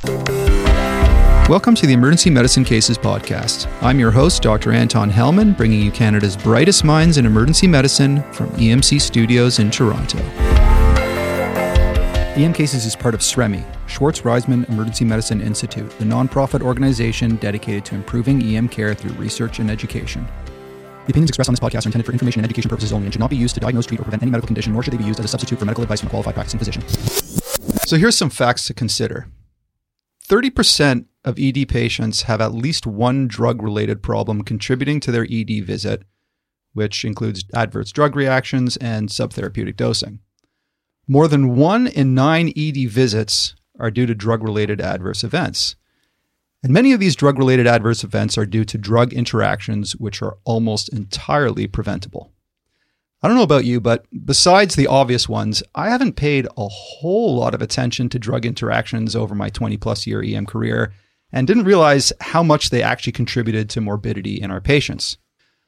Welcome to the Emergency Medicine Cases podcast. I'm your host, Dr. Anton Hellman, bringing you Canada's brightest minds in emergency medicine from EMC Studios in Toronto. EM Cases is part of SREMI, Schwartz Reisman Emergency Medicine Institute, the nonprofit organization dedicated to improving EM care through research and education. The opinions expressed on this podcast are intended for information and education purposes only and should not be used to diagnose, treat, or prevent any medical condition, nor should they be used as a substitute for medical advice from a qualified practicing physician. So here's some facts to consider. 30% of ED patients have at least one drug-related problem contributing to their ED visit, which includes adverse drug reactions and subtherapeutic dosing. More than 1 in 9 ED visits are due to drug-related adverse events. And many of these drug-related adverse events are due to drug interactions, which are almost entirely preventable. I don't know about you, but besides the obvious ones, I haven't paid a whole lot of attention to drug interactions over my 20-plus year EM career and didn't realize how much they actually contributed to morbidity in our patients.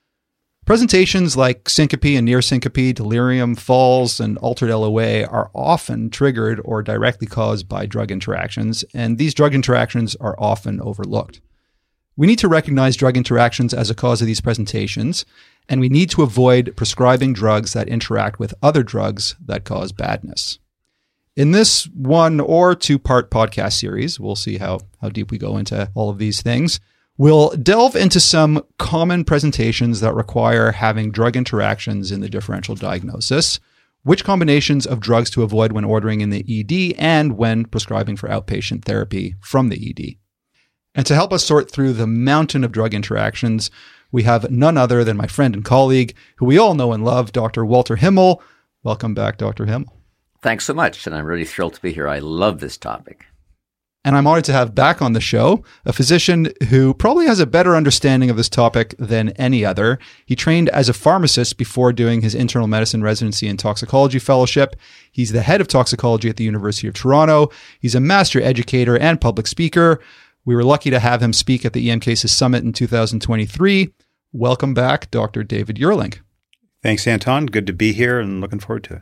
Presentations like syncope and near syncope, delirium, falls, and altered LOA are often triggered or directly caused by drug interactions, and these drug interactions are often overlooked. We need to recognize drug interactions as a cause of these presentations, and we need to avoid prescribing drugs that interact with other drugs that cause badness. In this 1 or 2-part podcast series, we'll see how deep we go into all of these things. We'll delve into some common presentations that require having drug interactions in the differential diagnosis, which combinations of drugs to avoid when ordering in the ED and when prescribing for outpatient therapy from the ED. And to help us sort through the mountain of drug interactions, we have none other than my friend and colleague, who we all know and love, Dr. Walter Himmel. Welcome back, Dr. Himmel. Thanks so much, and I'm really thrilled to be here. I love this topic. And I'm honored to have back on the show a physician who probably has a better understanding of this topic than any other. He trained as a pharmacist before doing his internal medicine residency and toxicology fellowship. He's the head of toxicology at the University of Toronto. He's a master educator and public speaker. We were lucky to have him speak at the EM Cases Summit in 2023. Welcome back, Dr. David Yerling. Thanks, Anton. Good to be here and looking forward to it.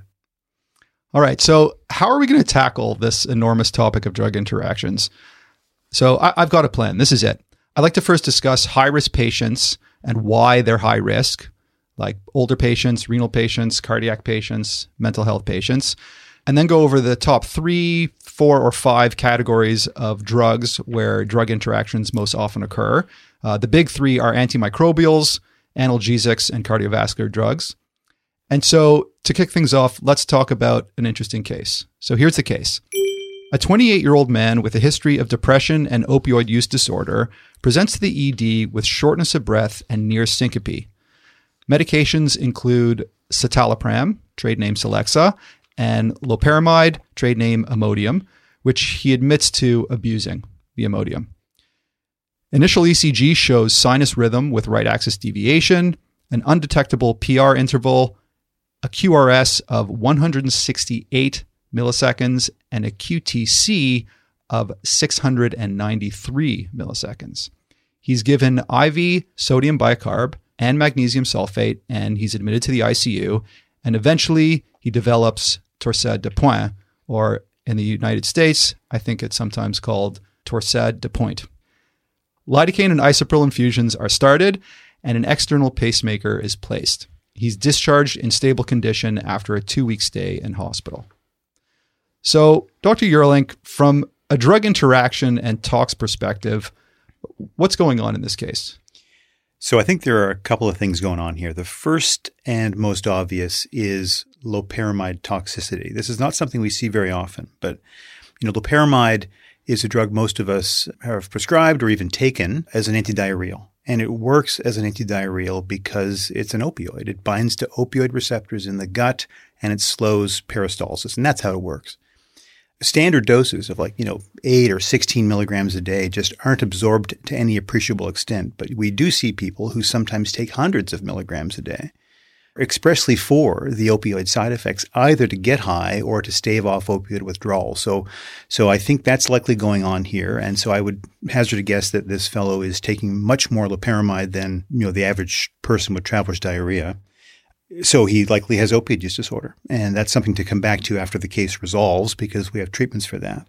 All right. So how are we going to tackle this enormous topic of drug interactions? So I've got a plan. This is it. I'd like to first discuss high-risk patients and why they're high risk, like older patients, renal patients, cardiac patients, mental health patients, and then go over the top 3, 4, or 5 categories of drugs where drug interactions most often occur. The big 3 are antimicrobials, analgesics, and cardiovascular drugs. And so to kick things off, let's talk about an interesting case. So here's the case. A 28-year-old man with a history of depression and opioid use disorder presents to the ED with shortness of breath and near syncope. Medications include citalopram, trade name Celexa, and loperamide, trade name Imodium, which he admits to abusing, the Imodium. Initial ECG shows sinus rhythm with right axis deviation, an undetectable PR interval, a QRS of 168 milliseconds, and a QTC of 693 milliseconds. He's given IV sodium bicarb and magnesium sulfate, and he's admitted to the ICU, and eventually he develops torsade de pointe, or in the United States, I think it's sometimes called torsade de pointe. Lidocaine and isopril infusions are started, and an external pacemaker is placed. He's discharged in stable condition after a 2-week stay in hospital. So, Dr. Yerling, from a drug interaction and tox perspective, what's going on in this case? So I think there are a couple of things going on here. The first and most obvious is loperamide toxicity. This is not something we see very often, but loperamide is a drug most of us have prescribed or even taken as an antidiarrheal. And it works as an antidiarrheal because it's an opioid. It binds to opioid receptors in the gut and it slows peristalsis. And that's how it works. Standard doses of 8 or 16 milligrams a day just aren't absorbed to any appreciable extent. But we do see people who sometimes take hundreds of milligrams a day expressly for the opioid side effects, either to get high or to stave off opioid withdrawal. So I think that's likely going on here. And so I would hazard a guess that this fellow is taking much more loperamide than, the average person with traveler's diarrhea. So he likely has opioid use disorder. And that's something to come back to after the case resolves because we have treatments for that.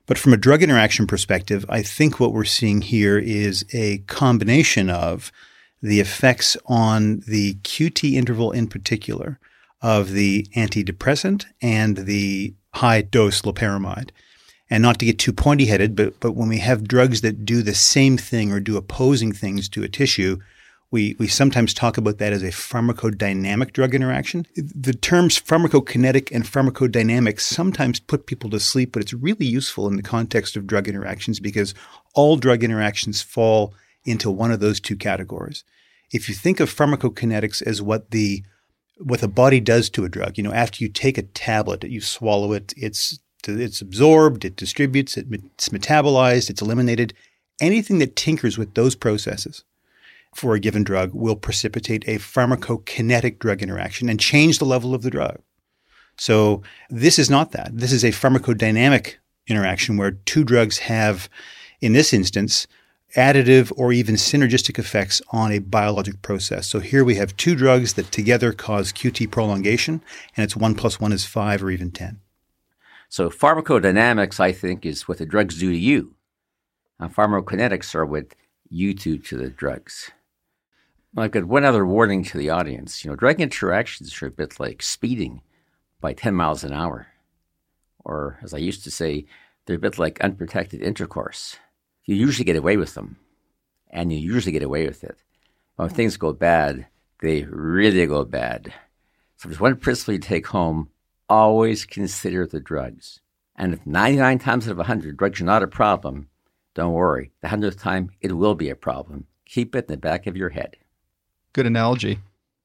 But from a drug interaction perspective, I think what we're seeing here is a combination of the effects on the QT interval in particular of the antidepressant and the high-dose loperamide. And not to get too pointy-headed, but when we have drugs that do the same thing or do opposing things to a tissue, we sometimes talk about that as a pharmacodynamic drug interaction. The terms pharmacokinetic and pharmacodynamic sometimes put people to sleep, but it's really useful in the context of drug interactions because all drug interactions fall into one of those two categories. If you think of pharmacokinetics as what the body does to a drug, after you take a tablet, you swallow it, it's absorbed, it distributes, it's metabolized, it's eliminated. Anything that tinkers with those processes for a given drug will precipitate a pharmacokinetic drug interaction and change the level of the drug. So this is not that. This is a pharmacodynamic interaction where two drugs have, in this instance, additive or even synergistic effects on a biologic process. So here we have two drugs that together cause QT prolongation, and it's 1 + 1 is 5 or even 10. So pharmacodynamics, I think, is what the drugs do to you. And pharmacokinetics are what you do to the drugs. I've got one other warning to the audience. Drug interactions are a bit like speeding by 10 miles an hour. Or, as I used to say, they're a bit like unprotected intercourse. You usually get away with them, and you usually get away with it. But when things go bad, they really go bad. So there's one principle you take home: always consider the drugs. And if 99 times out of 100 drugs are not a problem, don't worry. The 100th time, it will be a problem. Keep it in the back of your head. Good analogy.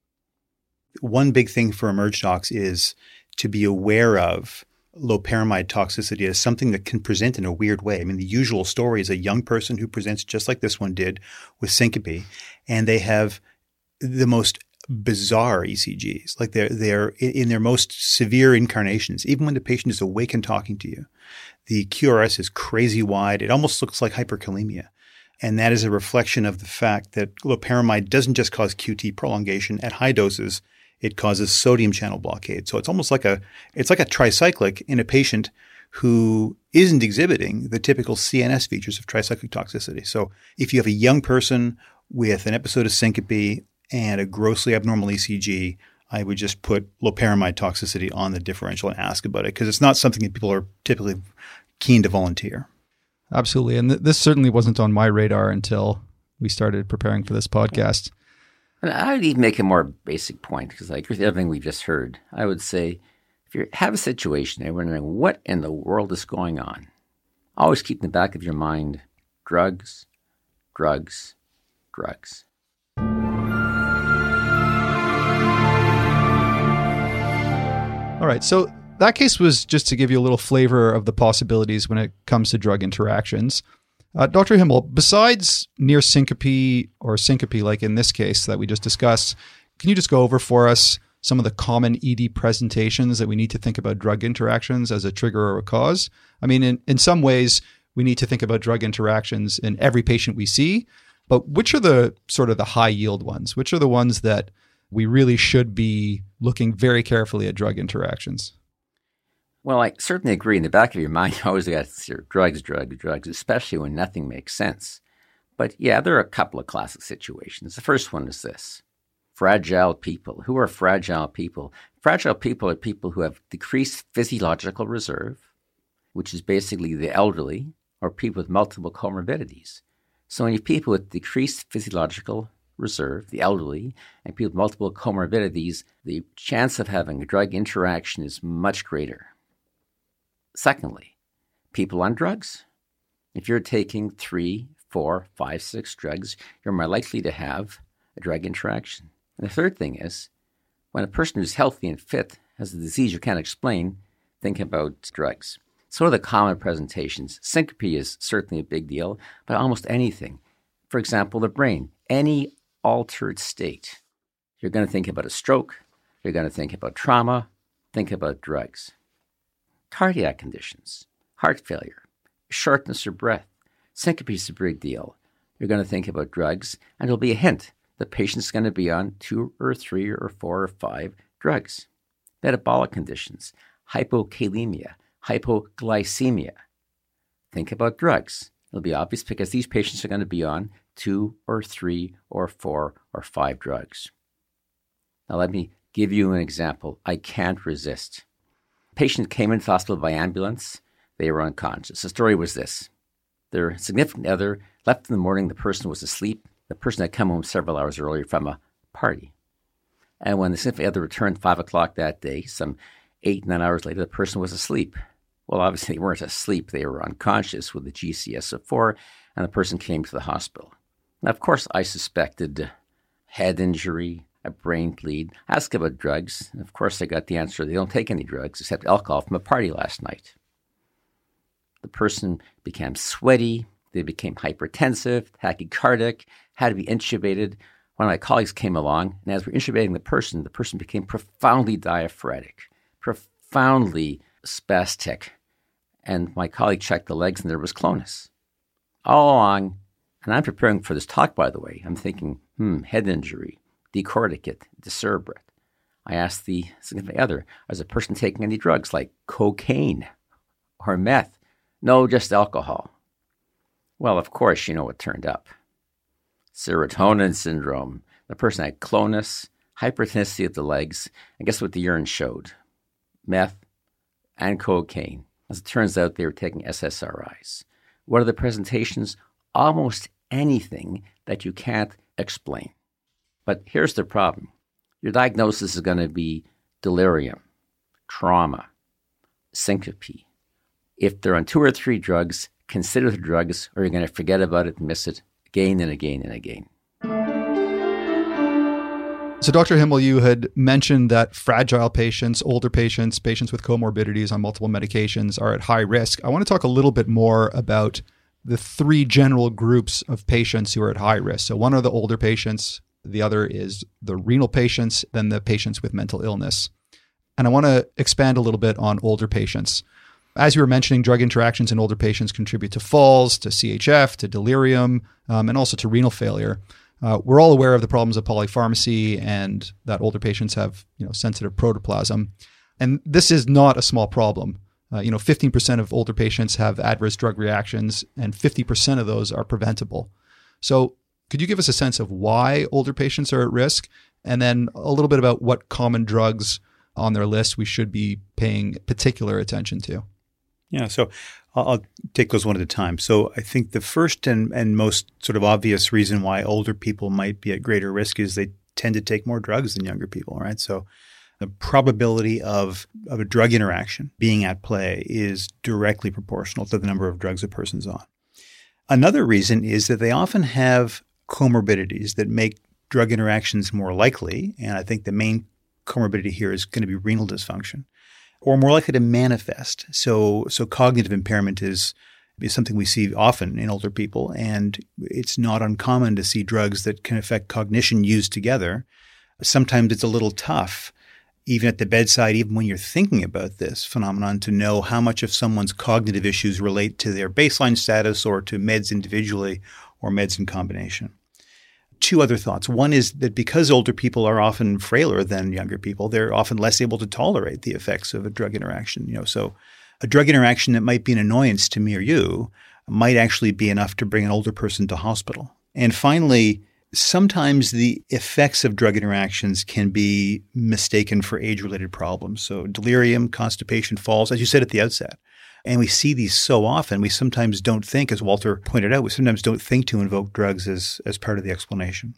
One big thing for Emerge Docs is to be aware of loperamide toxicity as something that can present in a weird way. I mean, the usual story is a young person who presents just like this one did with syncope, and they have the most bizarre ECGs. Like they're in their most severe incarnations, even when the patient is awake and talking to you. The QRS is crazy wide. It almost looks like hyperkalemia. And that is a reflection of the fact that loperamide doesn't just cause QT prolongation at high doses. It causes sodium channel blockade. So it's almost like a tricyclic in a patient who isn't exhibiting the typical CNS features of tricyclic toxicity. So if you have a young person with an episode of syncope and a grossly abnormal ECG, I would just put loperamide toxicity on the differential and ask about it because it's not something that people are typically keen to volunteer. Absolutely. And this certainly wasn't on my radar until we started preparing for this podcast. And I would even make a more basic point because I agree with everything we've just heard. I would say if you have a situation and you're wondering what in the world is going on, always keep in the back of your mind drugs, drugs, drugs. All right. So that case was just to give you a little flavor of the possibilities when it comes to drug interactions. Dr. Himmel, besides near syncope or syncope, like in this case that we just discussed, can you just go over for us some of the common ED presentations that we need to think about drug interactions as a trigger or a cause? I mean, in some ways, we need to think about drug interactions in every patient we see, but which are the sort of the high yield ones? Which are the ones that we really should be looking very carefully at drug interactions? Well, I certainly agree. In the back of your mind, you always got to see drugs, especially when nothing makes sense. But yeah, there are a couple of classic situations. The first one is this. Fragile people. Who are fragile people? Fragile people are people who have decreased physiological reserve, which is basically the elderly, or people with multiple comorbidities. So when you have people with decreased physiological reserve, the elderly, and people with multiple comorbidities, the chance of having a drug interaction is much greater. Secondly, people on drugs. If you're taking 3, 4, 5, 6 drugs, you're more likely to have a drug interaction. And the third thing is, when a person who's healthy and fit has a disease you can't explain, think about drugs. So are the common presentations. Syncope is certainly a big deal, but almost anything. For example, the brain, any altered state. You're going to think about a stroke. You're going to think about trauma. Think about drugs. Cardiac conditions, heart failure, shortness of breath. Syncope is a big deal. You're going to think about drugs, and there'll be a hint. The patient's going to be on 2 or 3 or 4 or 5 drugs. Metabolic conditions, hypokalemia, hypoglycemia. Think about drugs. It'll be obvious because these patients are going to be on 2 or 3 or 4 or 5 drugs. Now let me give you an example I can't resist. A patient came into the hospital by ambulance. They were unconscious. The story was this. Their significant other left in the morning. The person was asleep. The person had come home several hours earlier from a party. And when the significant other returned 5 o'clock that day, some 8, 9 hours later, the person was asleep. Well, obviously, they weren't asleep. They were unconscious with a GCS of 4, and the person came to the hospital. Now, of course, I suspected head injury, a brain bleed. I asked about drugs, and of course, I got the answer they don't take any drugs except alcohol from a party last night. The person became sweaty. They became hypertensive, tachycardic, had to be intubated. One of my colleagues came along, and as we're intubating the person became profoundly diaphoretic, profoundly spastic. And my colleague checked the legs, and there was clonus. All along, and I'm preparing for this talk, by the way, I'm thinking, head injury, decorticate, decerebrate. I asked the significant other, is the person taking any drugs like cocaine or meth? No, just alcohol. Well, of course, you know what turned up. Serotonin syndrome. The person had clonus, hypertonicity of the legs, and guess what the urine showed? Meth and cocaine. As it turns out, they were taking SSRIs. What are the presentations? Almost anything that you can't explain. But here's the problem. Your diagnosis is going to be delirium, trauma, syncope. If they're on 2 or 3 drugs, consider the drugs, or you're going to forget about it and miss it again and again and again. So Dr. Himmel, you had mentioned that fragile patients, older patients, patients with comorbidities on multiple medications are at high risk. I want to talk a little bit more about the 3 general groups of patients who are at high risk. So one are the older patients, the other is the renal patients, then the patients with mental illness. And I want to expand a little bit on older patients. As you were mentioning, drug interactions in older patients contribute to falls, to CHF, to delirium, and also to renal failure. We're all aware of the problems of polypharmacy and that older patients have, sensitive protoplasm. And this is not a small problem. 15% of older patients have adverse drug reactions, and 50% of those are preventable. So could you give us a sense of why older patients are at risk? And then a little bit about what common drugs on their list we should be paying particular attention to? Yeah, so I'll take those one at a time. So I think the first and most sort of obvious reason why older people might be at greater risk is they tend to take more drugs than younger people, right? So the probability of a drug interaction being at play is directly proportional to the number of drugs a person's on. Another reason is that they often have comorbidities that make drug interactions more likely, and I think the main comorbidity here is going to be renal dysfunction, or more likely to manifest. So cognitive impairment is something we see often in older people, and it's not uncommon to see drugs that can affect cognition used together. Sometimes it's a little tough, even at the bedside, even when you're thinking about this phenomenon, to know how much of someone's cognitive issues relate to their baseline status or to meds individually or meds in combination. 2 other thoughts. One is that because older people are often frailer than younger people, they're often less able to tolerate the effects of a drug interaction. So a drug interaction that might be an annoyance to me or you might actually be enough to bring an older person to hospital. And finally, sometimes the effects of drug interactions can be mistaken for age-related problems. So delirium, constipation, falls, as you said at the outset. And we see these so often, we sometimes don't think, as Walter pointed out, we sometimes don't think to invoke drugs as part of the explanation.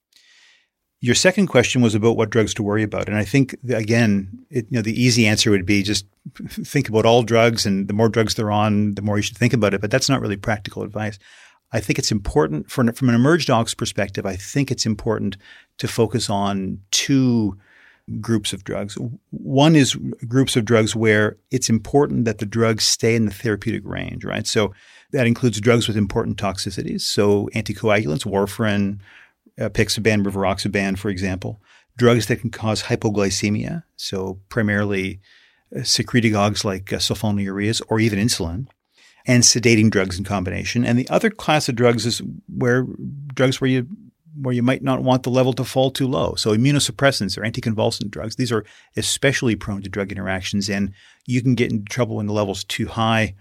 Your second question was about what drugs to worry about. And I think, again, the easy answer would be just think about all drugs, and the more drugs they're on, the more you should think about it. But that's not really practical advice. I think it's important, from an emerged docs perspective, I think it's important to focus on 2 groups of drugs. One is groups of drugs where it's important that the drugs stay in the therapeutic range, right? So that includes drugs with important toxicities. So anticoagulants, warfarin, apixaban, rivaroxaban, for example. Drugs that can cause hypoglycemia, so primarily secretagogues like sulfonylureas or even insulin, and sedating drugs in combination. And the other class of drugs is drugs where you might not want the level to fall too low. So immunosuppressants or anticonvulsant drugs, these are especially prone to drug interactions, and you can get into trouble when the level's too high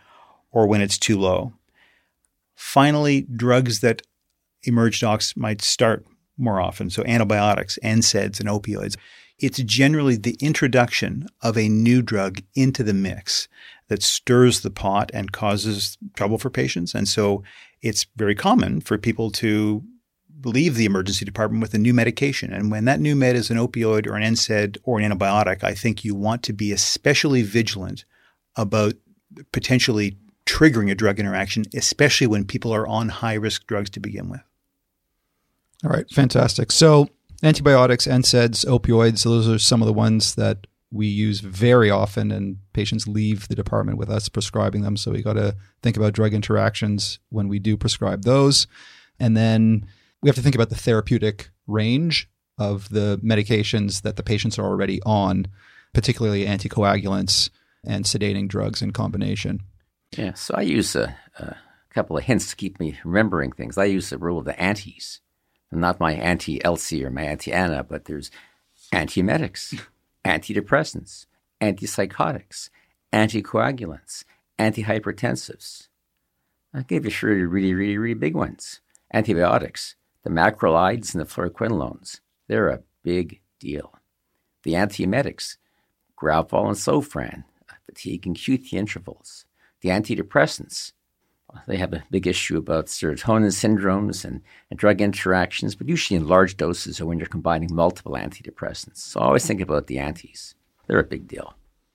or when it's too low. Finally, drugs that emerged docs might start more often. So antibiotics, NSAIDs, and opioids. It's generally the introduction of a new drug into the mix that stirs the pot and causes trouble for patients. And so it's very common for people to leave the emergency department with a new medication. And when that new med is an opioid or an NSAID or an antibiotic, I think you want to be especially vigilant about potentially triggering a drug interaction, especially when people are on high-risk drugs to begin with. All right, fantastic. So antibiotics, NSAIDs, opioids, those are some of the ones that we use very often, and patients leave the department with us prescribing them. So we got to think about drug interactions when we do prescribe those. And then we have to think about the therapeutic range of the medications that the patients are already on, particularly anticoagulants and sedating drugs in combination. Yeah, so I use a couple of hints to keep me remembering things. I use the rule of the antis. Not my anti-Elsie or my anti-Anna, but there's antiemetics, antidepressants, antipsychotics, anticoagulants, antihypertensives. I gave you sure really, really, really big ones. Antibiotics, the macrolides and the fluoroquinolones, they're a big deal. The antiemetics, Gravol and Sofran, fatigue and QT intervals. The antidepressants, they have a big issue about serotonin syndromes and drug interactions, but usually in large doses or when you're combining multiple antidepressants. So always think about the antis. They're a big deal.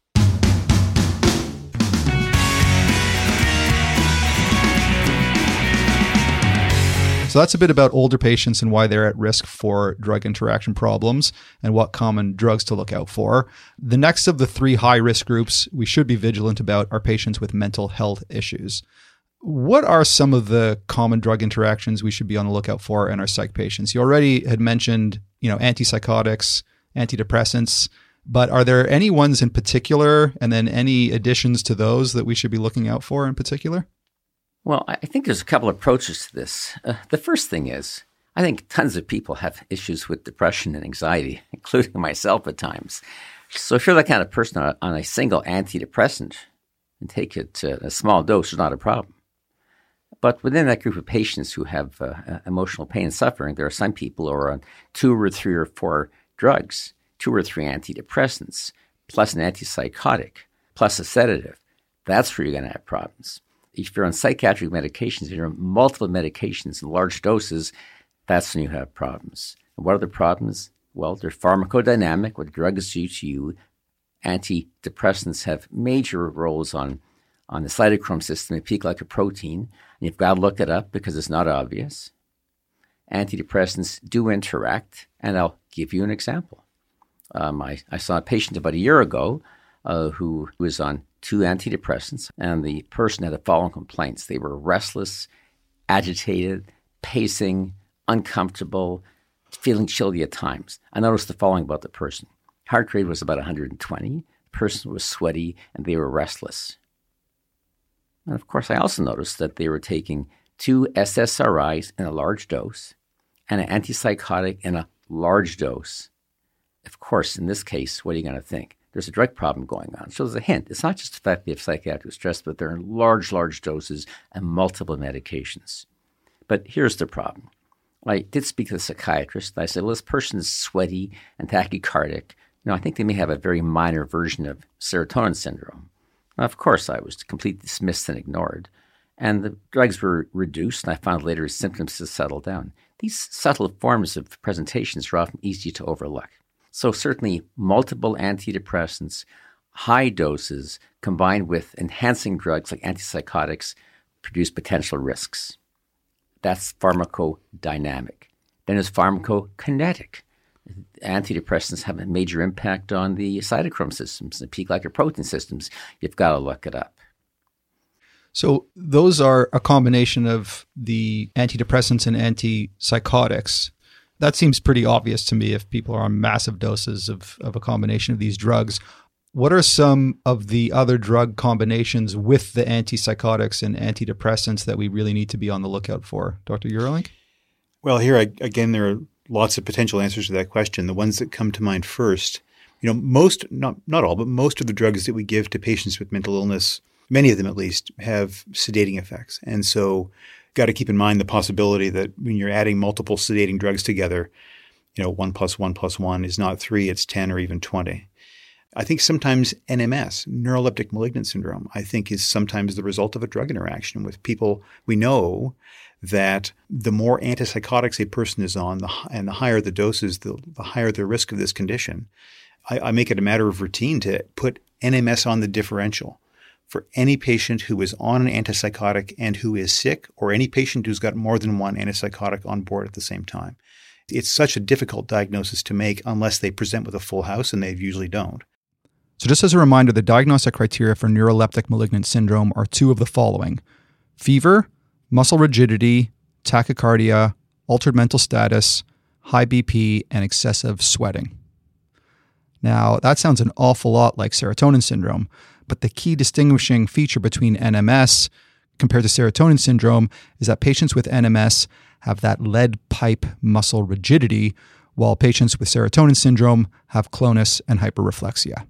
So that's a bit about older patients and why they're at risk for drug interaction problems and what common drugs to look out for. The next of the three high-risk groups we should be vigilant about are patients with mental health issues. What are some of the common drug interactions we should be on the lookout for in our psych patients? You already had mentioned, antipsychotics, antidepressants, but are there any ones in particular and then any additions to those that we should be looking out for in particular? Well, I think there's a couple of approaches to this. The first thing is, I think tons of people have issues with depression and anxiety, including myself at times. So if you're that kind of person on a single antidepressant and take it a small dose is not a problem. But within that group of patients who have emotional pain and suffering, there are some people who are on 2 or 3 or 4 drugs, 2 or 3 antidepressants, plus an antipsychotic, plus a sedative. That's where you're going to have problems. If you're on psychiatric medications, you're on multiple medications in large doses, that's when you have problems. And what are the problems? Well, they're pharmacodynamic. What drugs do to you? Antidepressants have major roles on the cytochrome system, the P-glycoprotein, and you've got to look it up because it's not obvious. Antidepressants do interact, and I'll give you an example. I saw a patient about a year ago who was on 2 antidepressants, and the person had the following complaints. They were restless, agitated, pacing, uncomfortable, feeling chilly at times. I noticed the following about the person. Heart rate was about 120. The person was sweaty, and they were restless. And of course, I also noticed that they were taking 2 SSRIs in a large dose and an antipsychotic in a large dose. Of course, in this case, what are you going to think? There's a drug problem going on. So there's a hint. It's not just the fact they have psychiatric stress, but they're in large, large doses and multiple medications. But here's the problem. I did speak to the psychiatrist. I said, well, this person is sweaty and tachycardic. I think they may have a very minor version of serotonin syndrome. Now, of course, I was completely dismissed and ignored. And the drugs were reduced, and I found later his symptoms to settle down. These subtle forms of presentations are often easy to overlook. So certainly multiple antidepressants, high doses, combined with enhancing drugs like antipsychotics produce potential risks. That's pharmacodynamic. Then there's pharmacokinetic. Antidepressants have a major impact on the cytochrome systems, the P-glycoprotein systems. You've got to look it up. So those are a combination of the antidepressants and antipsychotics. That seems pretty obvious to me if people are on massive doses of a combination of these drugs. What are some of the other drug combinations with the antipsychotics and antidepressants that we really need to be on the lookout for? Dr. Eurlink? Well, here again, there are lots of potential answers to that question. The ones that come to mind first, most, not all, but most of the drugs that we give to patients with mental illness many of them at least, have sedating effects. And so got to keep in mind the possibility that when you're adding multiple sedating drugs together, 1 + 1 + 1 is not 3, it's 10 or even 20. I think sometimes NMS, neuroleptic malignant syndrome, I think is sometimes the result of a drug interaction with people. We know that the more antipsychotics a person is on, and the higher the doses, the higher the risk of this condition. I make it a matter of routine to put NMS on the differential for any patient who is on an antipsychotic and who is sick, or any patient who's got more than one antipsychotic on board at the same time. It's such a difficult diagnosis to make unless they present with a full house, and they usually don't. So just as a reminder, the diagnostic criteria for neuroleptic malignant syndrome are 2 of the following: fever, muscle rigidity, tachycardia, altered mental status, high BP, and excessive sweating. Now, that sounds an awful lot like serotonin syndrome, but the key distinguishing feature between NMS compared to serotonin syndrome is that patients with NMS have that lead pipe muscle rigidity, while patients with serotonin syndrome have clonus and hyperreflexia.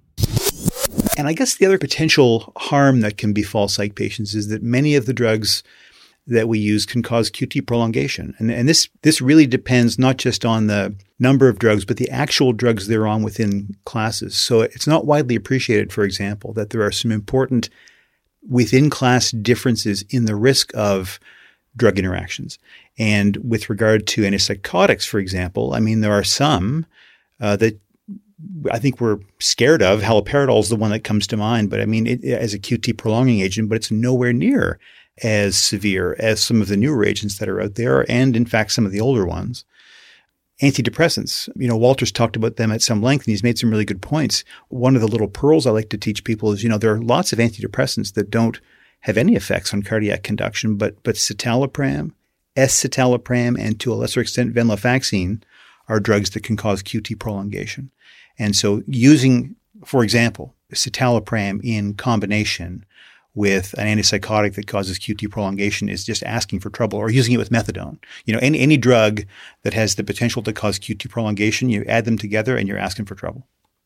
And I guess the other potential harm that can befall psych patients is that many of the drugs that we use can cause QT prolongation. And this really depends not just on the number of drugs, but the actual drugs they're on within classes. So it's not widely appreciated, for example, that there are some important within-class differences in the risk of drug interactions. And with regard to antipsychotics, for example, I mean, there are some that I think we're scared of. Haloperidol is the one that comes to mind, but I mean, as a QT prolonging agent, but it's nowhere near as severe as some of the newer agents that are out there, and in fact, some of the older ones. Antidepressants, Walter's talked about them at some length, and he's made some really good points. One of the little pearls I like to teach people is, there are lots of antidepressants that don't have any effects on cardiac conduction, but citalopram, escitalopram, and to a lesser extent venlafaxine are drugs that can cause QT prolongation. And so using, for example, citalopram in combination with an antipsychotic that causes QT prolongation is just asking for trouble, or using it with methadone. Any drug that has the potential to cause QT prolongation, you add them together and you're asking for trouble.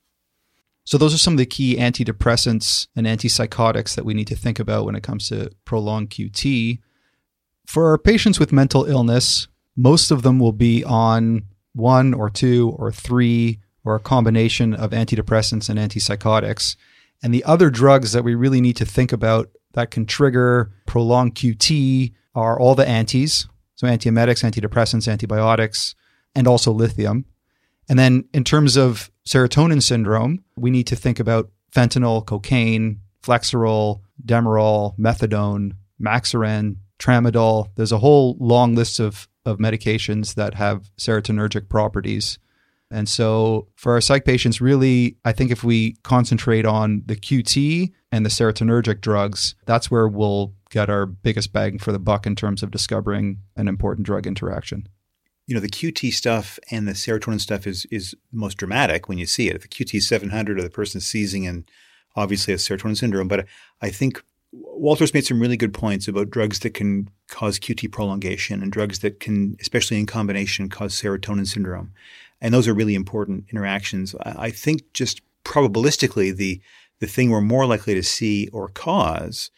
So those are some of the key antidepressants and antipsychotics that we need to think about when it comes to prolonged QT. For our patients with mental illness, most of them will be on 1 or 2 or 3 or a combination of antidepressants and antipsychotics. And the other drugs that we really need to think about that can trigger prolonged QT are all the antis, so antiemetics, antidepressants, antibiotics, and also lithium. And then in terms of serotonin syndrome, we need to think about fentanyl, cocaine, Flexeril, Demerol, methadone, Maxaran, Tramadol. There's a whole long list of medications that have serotonergic properties. And so for our psych patients, really, I think if we concentrate on the QT and the serotonergic drugs, that's where we'll get our biggest bang for the buck in terms of discovering an important drug interaction. The QT stuff and the serotonin stuff is the most dramatic when you see it. If the QT is 700 or the person is seizing, and obviously it's serotonin syndrome. But I think Walter's made some really good points about drugs that can cause QT prolongation and drugs that can, especially in combination, cause serotonin syndrome. And those are really important interactions. I think just probabilistically, the thing we're more likely to see or cause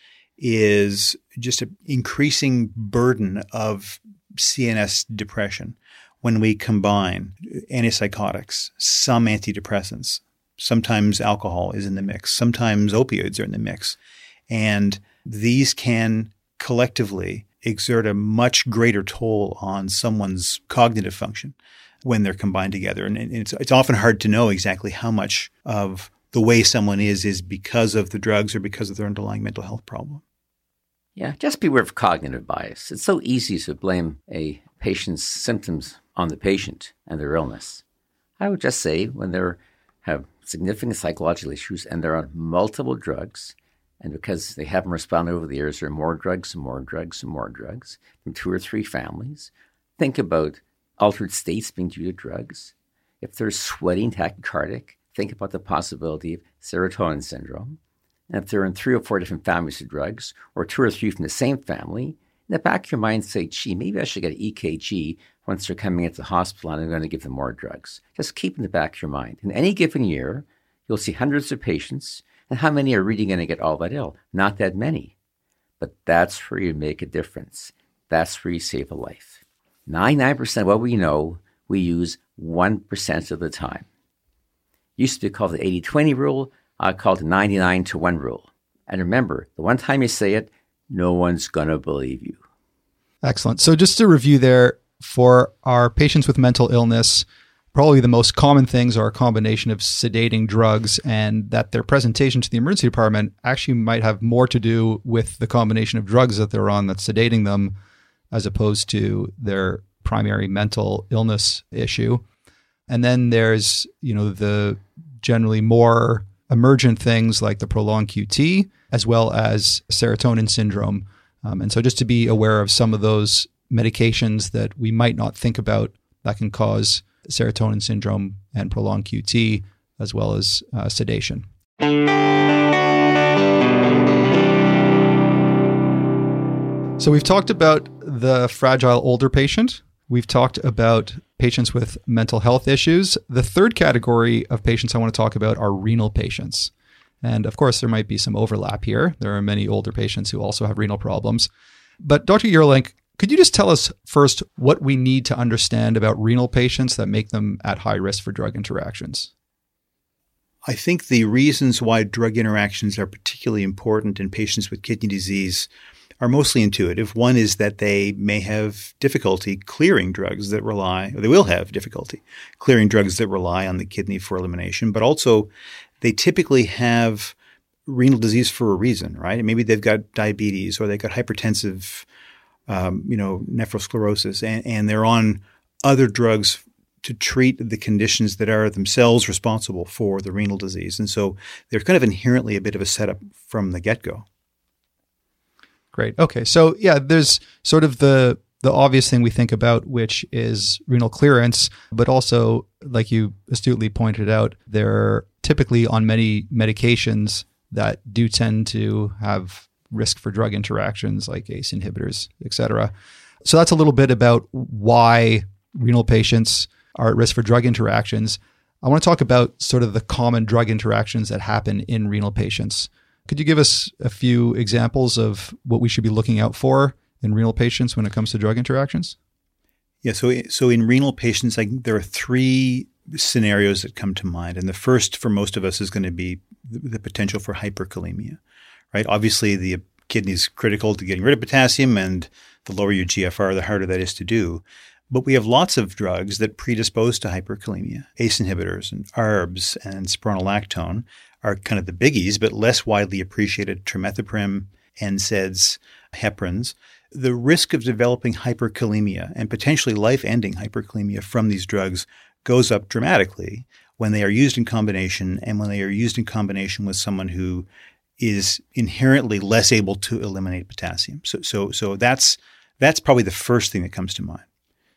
is just an increasing burden of CNS depression when we combine antipsychotics, some antidepressants, sometimes alcohol is in the mix, sometimes opioids are in the mix. And these can collectively exert a much greater toll on someone's cognitive function when they're combined together. And it's often hard to know exactly how much of the way someone is because of the drugs or because of their underlying mental health problem. Yeah, just beware of cognitive bias. It's so easy to blame a patient's symptoms on the patient and their illness. I would just say when they have significant psychological issues and they're on multiple drugs, and because they haven't responded over the years, there are more drugs and more drugs and more drugs from 2 or 3 families. Think about altered states being due to drugs. If they're sweating tachycardic, think about the possibility of serotonin syndrome. And if they're in 3 or 4 different families of drugs, or 2 or 3 from the same family, in the back of your mind say, gee, maybe I should get an EKG once they're coming into the hospital and I'm going to give them more drugs. Just keep in the back of your mind. In any given year, you'll see hundreds of patients And how many are really going to get all that ill? Not that many. But that's where you make a difference. That's where you save a life. 99% of what we know, we use 1% of the time. Used to be called the 80-20 rule. I call it the 99-to-1 rule. And remember, the one time you say it, no one's going to believe you. Excellent. So just to review there, for our patients with mental illness, probably the most common things are a combination of sedating drugs, and that their presentation to the emergency department actually might have more to do with the combination of drugs that they're on that's sedating them as opposed to their primary mental illness issue. And then there's, the generally more emergent things like the prolonged QT, as well as serotonin syndrome. And so just to be aware of some of those medications that we might not think about that can cause serotonin syndrome and prolonged QT, as well as sedation. So we've talked about the fragile older patient. We've talked about patients with mental health issues. The third category of patients I want to talk about are renal patients. And of course, there might be some overlap here. There are many older patients who also have renal problems. But Dr. Yerlink, could you just tell us first what we need to understand about renal patients that make them at high risk for drug interactions? I think the reasons why drug interactions are particularly important in patients with kidney disease are mostly intuitive. One is that they may have difficulty clearing drugs that rely, or they will have difficulty clearing drugs that rely on the kidney for elimination, but also they typically have renal disease for a reason, right? Maybe they've got diabetes or they've got hypertensive nephrosclerosis, and they're on other drugs to treat the conditions that are themselves responsible for the renal disease. And so they're kind of inherently a bit of a setup from the get-go. Great. Okay. So yeah, there's sort of the obvious thing we think about, which is renal clearance, but also, like you astutely pointed out, they're typically on many medications that do tend to have risk for drug interactions like ACE inhibitors, et cetera. So that's a little bit about why renal patients are at risk for drug interactions. I want to talk about sort of the common drug interactions that happen in renal patients. Could you give us a few examples of what we should be looking out for in renal patients when it comes to drug interactions? Yeah, so in renal patients, there are three scenarios that come to mind. And the first for most of us is going to be the potential for hyperkalemia, right? Obviously, the kidney is critical to getting rid of potassium, and the lower your GFR, the harder that is to do. But we have lots of drugs that predispose to hyperkalemia. ACE inhibitors and ARBs and spironolactone are kind of the biggies, but less widely appreciated. Trimethoprim, NSAIDs, heparins. The risk of developing hyperkalemia and potentially life-ending hyperkalemia from these drugs goes up dramatically when they are used in combination, and when they are used in combination with someone who is inherently less able to eliminate potassium. So that's probably the first thing that comes to mind.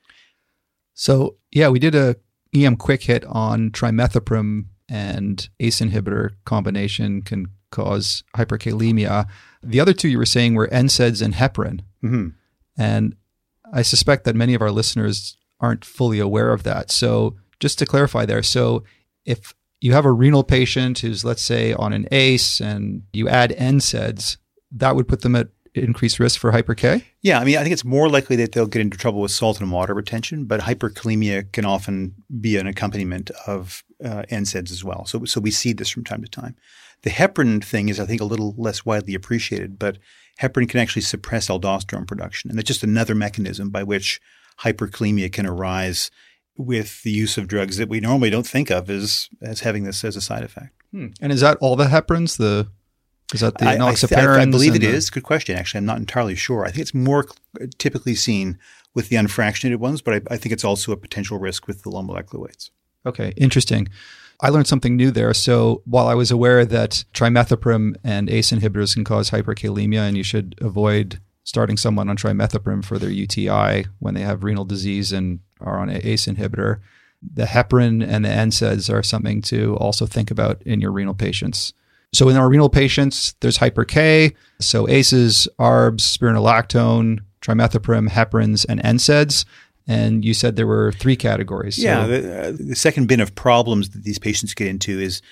So yeah, we did a EM quick hit on trimethoprim and ACE inhibitor combination can cause hyperkalemia. The other two you were saying were NSAIDs and heparin. Mm-hmm. And I suspect that many of our listeners aren't fully aware of that. So just to clarify there, so if you have a renal patient who's, let's say, on an ACE and you add NSAIDs, that would put them at increased risk for hyper-K? Yeah, I think it's more likely that they'll get into trouble with salt and water retention, but hyperkalemia can often be an accompaniment of NSAIDs as well. So we see this from time to time. The heparin thing is, I think, a little less widely appreciated, but heparin can actually suppress aldosterone production. And it's just another mechanism by which hyperkalemia can arise with the use of drugs that we normally don't think of as having this as a side effect. And is that all the heparins? Is that the enoxaparins? I believe it is. Good question. Actually, I'm not entirely sure. I think it's more typically seen with the unfractionated ones, but I think it's also a potential risk with the low molecular weights. Okay, interesting. I learned something new there. So while I was aware that trimethoprim and ACE inhibitors can cause hyperkalemia and you should avoid starting someone on trimethoprim for their UTI when they have renal disease and are on an ACE inhibitor, the heparin and the NSAIDs are something to also think about in your renal patients. So in our renal patients, there's hyper-K, so ACEs, ARBs, spironolactone, trimethoprim, heparins, and NSAIDs. And you said there were three categories. Yeah, the second bin of problems that these patients get into is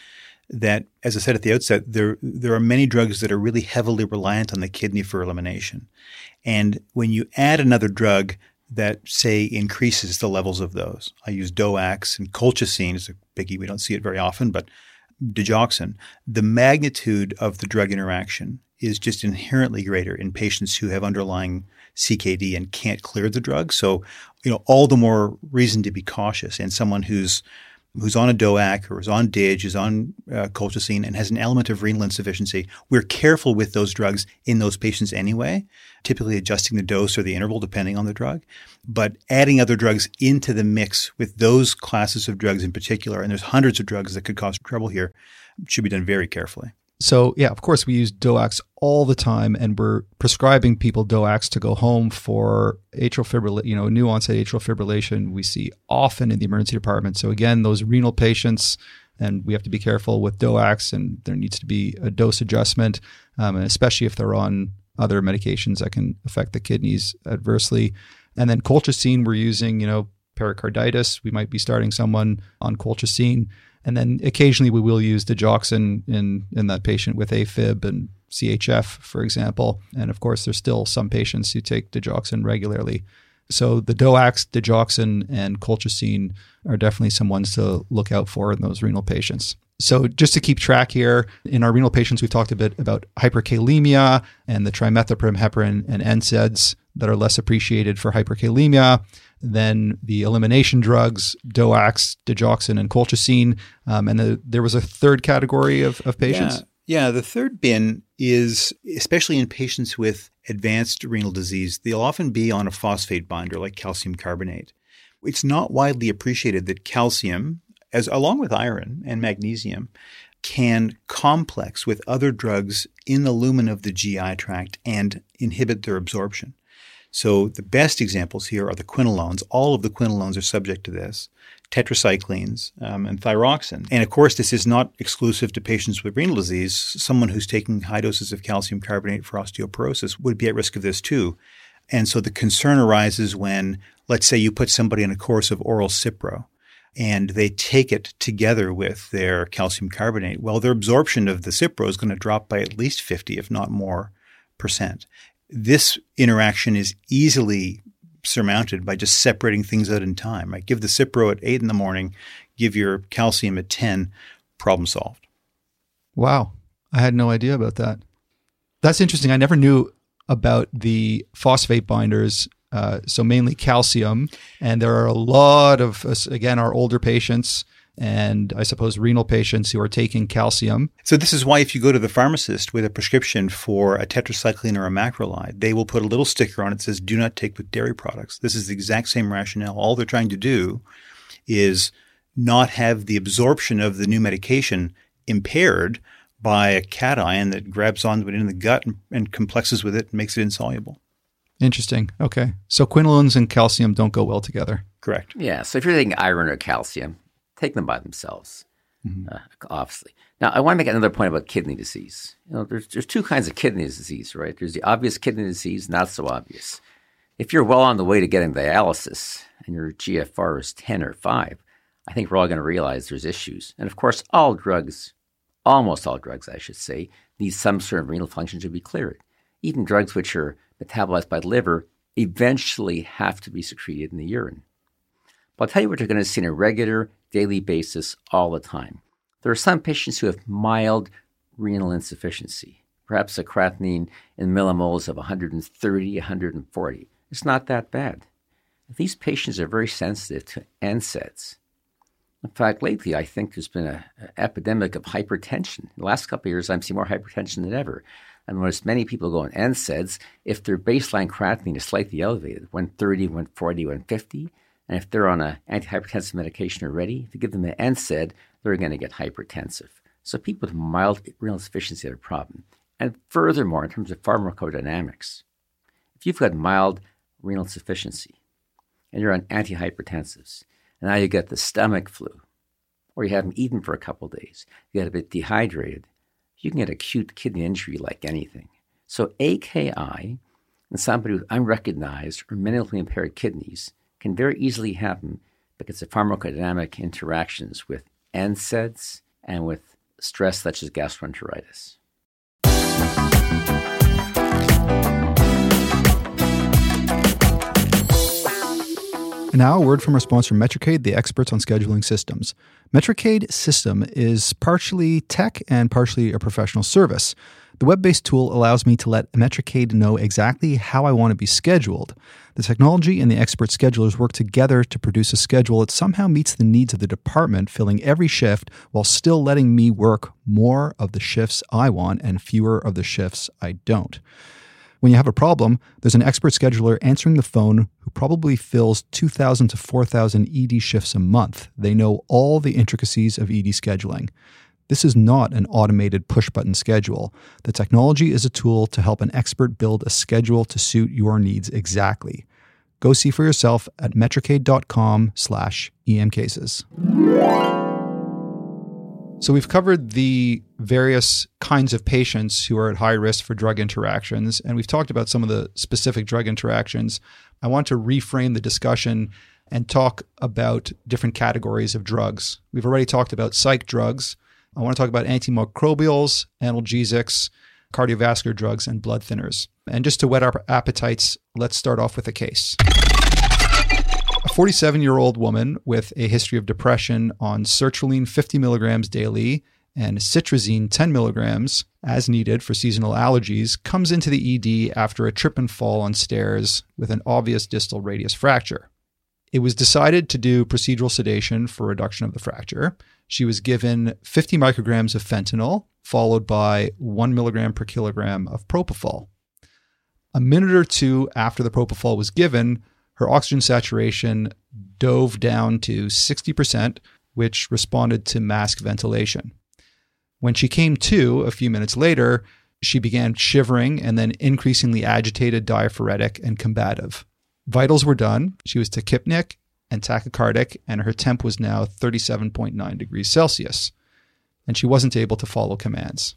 that, as I said at the outset, there are many drugs that are really heavily reliant on the kidney for elimination. And when you add another drug that, say, increases the levels of those, I use DOACs, and colchicine is a biggie. We don't see it very often, but digoxin, the magnitude of the drug interaction is just inherently greater in patients who have underlying CKD and can't clear the drug. So, all the more reason to be cautious. And someone who's on a DOAC or is on DIG, is on colchicine and has an element of renal insufficiency, we're careful with those drugs in those patients anyway, typically adjusting the dose or the interval depending on the drug. But adding other drugs into the mix with those classes of drugs in particular, and there's hundreds of drugs that could cause trouble here, should be done very carefully. So, yeah, of course, we use DOACs all the time, and we're prescribing people DOACs to go home for atrial fibrillation, new onset atrial fibrillation we see often in the emergency department. So, again, those renal patients, and we have to be careful with DOACs, and there needs to be a dose adjustment, and especially if they're on other medications that can affect the kidneys adversely. And then colchicine, we're using, pericarditis. We might be starting someone on colchicine. And then occasionally we will use digoxin in that patient with AFib and CHF, for example. And of course, there's still some patients who take digoxin regularly. So the DOACs, digoxin, and colchicine are definitely some ones to look out for in those renal patients. So just to keep track here, in our renal patients, we've talked a bit about hyperkalemia and the trimethoprim, heparin, and NSAIDs that are less appreciated for hyperkalemia. Then the elimination drugs, DOACs, digoxin, and colchicine. And there was a third category of patients? Yeah, the third bin is, especially in patients with advanced renal disease, they'll often be on a phosphate binder like calcium carbonate. It's not widely appreciated that calcium, along with iron and magnesium, can complex with other drugs in the lumen of the GI tract and inhibit their absorption. So the best examples here are the quinolones. All of the quinolones are subject to this, tetracyclines, and thyroxine. And of course, this is not exclusive to patients with renal disease. Someone who's taking high doses of calcium carbonate for osteoporosis would be at risk of this too. And so the concern arises when, let's say you put somebody on a course of oral Cipro and they take it together with their calcium carbonate. Well, their absorption of the Cipro is going to drop by at least 50, if not more, %. This interaction is easily surmounted by just separating things out in time. Right? Give the Cipro at 8 in the morning, give your calcium at 10, problem solved. Wow. I had no idea about that. That's interesting. I never knew about the phosphate binders, so mainly calcium. And there are a lot of, again, our older patients and I suppose renal patients who are taking calcium. So this is why if you go to the pharmacist with a prescription for a tetracycline or a macrolide, they will put a little sticker on it that says, do not take with dairy products. This is the exact same rationale. All they're trying to do is not have the absorption of the new medication impaired by a cation that grabs onto it in the gut and complexes with it and makes it insoluble. Interesting. Okay. So quinolones and calcium don't go well together. Correct. Yeah. So if you're taking iron or calcium, take them by themselves, obviously. Now, I want to make another point about kidney disease. There's two kinds of kidney disease, right? There's the obvious kidney disease, not so obvious. If you're well on the way to getting dialysis and your GFR is 10 or 5, I think we're all going to realize there's issues. And of course, all drugs, almost all drugs, I should say, need some sort of renal function to be cleared. Even drugs which are metabolized by the liver eventually have to be secreted in the urine. But I'll tell you what you're going to see on a regular, daily basis all the time. There are some patients who have mild renal insufficiency, perhaps a creatinine in millimoles of 130, 140. It's not that bad. These patients are very sensitive to NSAIDs. In fact, lately, I think there's been an epidemic of hypertension. In the last couple of years, I've seen more hypertension than ever. I've noticed many people go on NSAIDs if their baseline creatinine is slightly elevated, 130, 140, 150. And if they're on an antihypertensive medication already, if you give them an NSAID, they're going to get hypertensive. So people with mild renal insufficiency have a problem. And furthermore, in terms of pharmacodynamics, if you've got mild renal insufficiency and you're on antihypertensives, and now you get the stomach flu, or you haven't eaten for a couple of days, you get a bit dehydrated, you can get acute kidney injury like anything. So AKI in somebody with unrecognized or minimally impaired kidneys can very easily happen because of pharmacodynamic interactions with NSAIDs and with stress such as gastroenteritis. And now, a word from our sponsor, Metricade, the experts on scheduling systems. Metricade system is partially tech and partially a professional service. The web-based tool allows me to let Metricade know exactly how I want to be scheduled. The technology and the expert schedulers work together to produce a schedule that somehow meets the needs of the department, filling every shift while still letting me work more of the shifts I want and fewer of the shifts I don't. When you have a problem, there's an expert scheduler answering the phone who probably fills 2,000 to 4,000 ED shifts a month. They know all the intricacies of ED scheduling. This is not an automated push-button schedule. The technology is a tool to help an expert build a schedule to suit your needs exactly. Go see for yourself at metricade.com/emcases. So we've covered the various kinds of patients who are at high risk for drug interactions, and we've talked about some of the specific drug interactions. I want to reframe the discussion and talk about different categories of drugs. We've already talked about psych drugs. I want to talk about antimicrobials, analgesics, cardiovascular drugs, and blood thinners. And just to whet our appetites, let's start off with a case. A 47-year-old woman with a history of depression on sertraline 50 milligrams daily and citrazine 10 milligrams as needed for seasonal allergies comes into the ED after a trip and fall on stairs with an obvious distal radius fracture. It was decided to do procedural sedation for reduction of the fracture. She was given 50 micrograms of fentanyl, followed by 1 milligram per kilogram of propofol. A minute or two after the propofol was given, her oxygen saturation dove down to 60%, which responded to mask ventilation. When she came to a few minutes later, she began shivering and then increasingly agitated, diaphoretic, and combative. Vitals were done. She was tachypnic and tachycardic, and her temp was now 37.9 degrees Celsius, and she wasn't able to follow commands.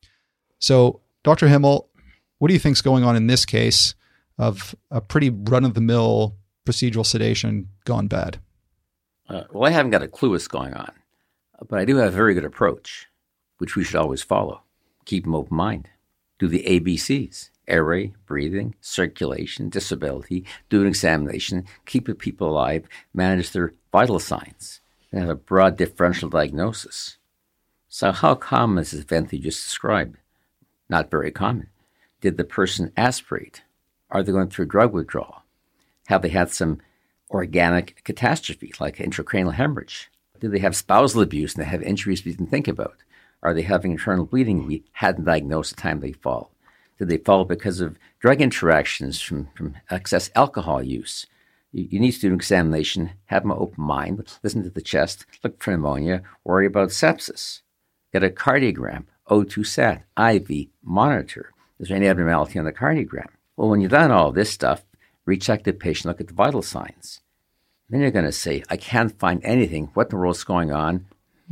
So, Dr. Himmel, what do you think is going on in this case of a pretty run-of-the-mill procedural sedation gone bad? Well, I haven't got a clue what's going on, but I do have a very good approach, which we should always follow. Keep an open mind. Do the ABCs. Airway, breathing, circulation, disability, do an examination, keep the people alive, manage their vital signs, and have a broad differential diagnosis. So how common is this event that you just described? Not very common. Did the person aspirate? Are they going through drug withdrawal? Have they had some organic catastrophe like intracranial hemorrhage? Do they have spousal abuse and they have injuries we didn't think about? Are they having internal bleeding we hadn't diagnosed at the time they fall? Did they fall because of drug interactions from excess alcohol use? You need to do an examination, have an open mind, listen to the chest, look for pneumonia, worry about sepsis. Get a cardiogram, O2 sat, IV, monitor. Is there any abnormality on the cardiogram? Well, when you've done all this stuff, recheck the patient, look at the vital signs. Then you're going to say, I can't find anything. What in the world is going on?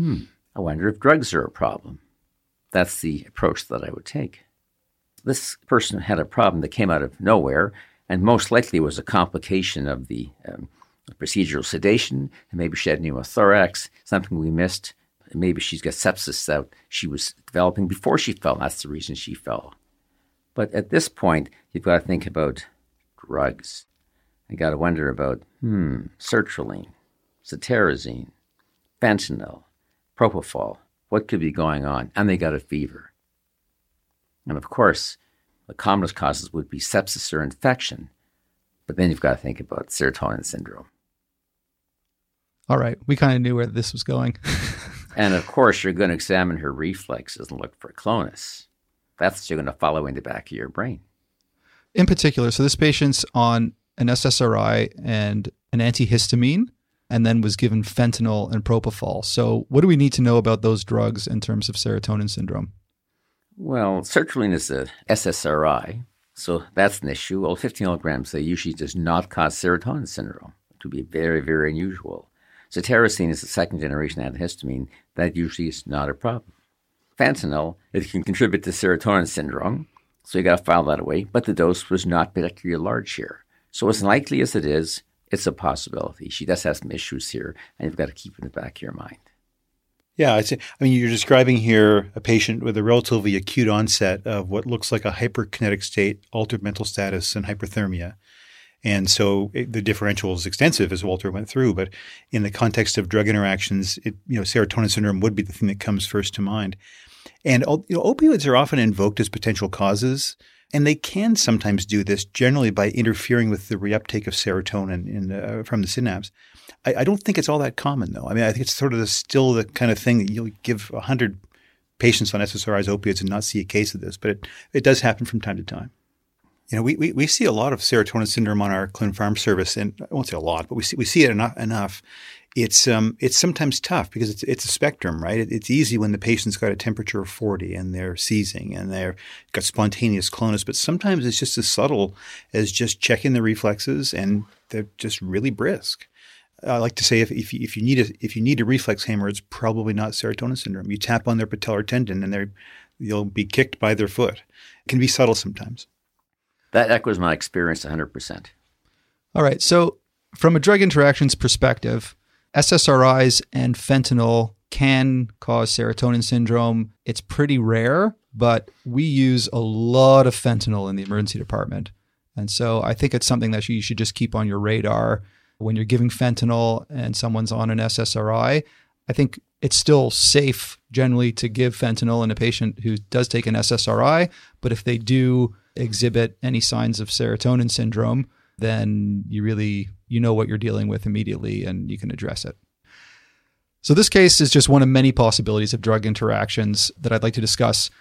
I wonder if drugs are a problem. That's the approach that I would take. This person had a problem that came out of nowhere and most likely was a complication of the procedural sedation, and maybe she had pneumothorax, something we missed. And maybe she's got sepsis that she was developing before she fell. That's the reason she fell. But at this point, you've got to think about drugs. You got to wonder about sertraline, cetirizine, fentanyl, propofol. What could be going on? And they got a fever. And of course, the commonest causes would be sepsis or infection. But then you've got to think about serotonin syndrome. All right. We kind of knew where this was going. And of course, you're going to examine her reflexes and look for clonus. That's what you're going to follow in the back of your brain. In particular, so this patient's on an SSRI and an antihistamine, and then was given fentanyl and propofol. So what do we need to know about those drugs in terms of serotonin syndrome? Well, sertraline is a SSRI, so that's an issue. Well, 50 milligrams, they usually does not cause serotonin syndrome. It would be very, very unusual. Cetirizine is a second-generation antihistamine. That usually is not a problem. Fentanyl, it can contribute to serotonin syndrome, so you got to file that away, but the dose was not particularly large here. So as likely as it is, it's a possibility. She does have some issues here, and you've got to keep it in the back of your mind. Yeah, you're describing here a patient with a relatively acute onset of what looks like a hyperkinetic state, altered mental status, and hyperthermia. And so the differential is extensive, as Walter went through. But in the context of drug interactions, serotonin syndrome would be the thing that comes first to mind. And opioids are often invoked as potential causes, and they can sometimes do this generally by interfering with the reuptake of serotonin from the synapse. I don't think it's all that common, though. I mean, I think it's sort of still the kind of thing that you'll give 100 patients on SSRIs, opiates, and not see a case of this, but it does happen from time to time. We see a lot of serotonin syndrome on our clin pharm service, and I won't say a lot, but we see it enough. It's sometimes tough because it's a spectrum, right? It's easy when the patient's got a temperature of 40 and they're seizing and they've got spontaneous clonus, but sometimes it's just as subtle as just checking the reflexes and they're just really brisk. I like to say if you need a reflex hammer, it's probably not serotonin syndrome. You tap on their patellar tendon and you'll be kicked by their foot. It can be subtle sometimes. That echoes my experience 100%. All right. So from a drug interactions perspective, SSRIs and fentanyl can cause serotonin syndrome. It's pretty rare, but we use a lot of fentanyl in the emergency department. And so I think it's something that you should just keep on your radar when you're giving fentanyl and someone's on an SSRI. I think it's still safe generally to give fentanyl in a patient who does take an SSRI, but if they do exhibit any signs of serotonin syndrome, then you know what you're dealing with immediately and you can address it. So this case is just one of many possibilities of drug interactions that I'd like to discuss.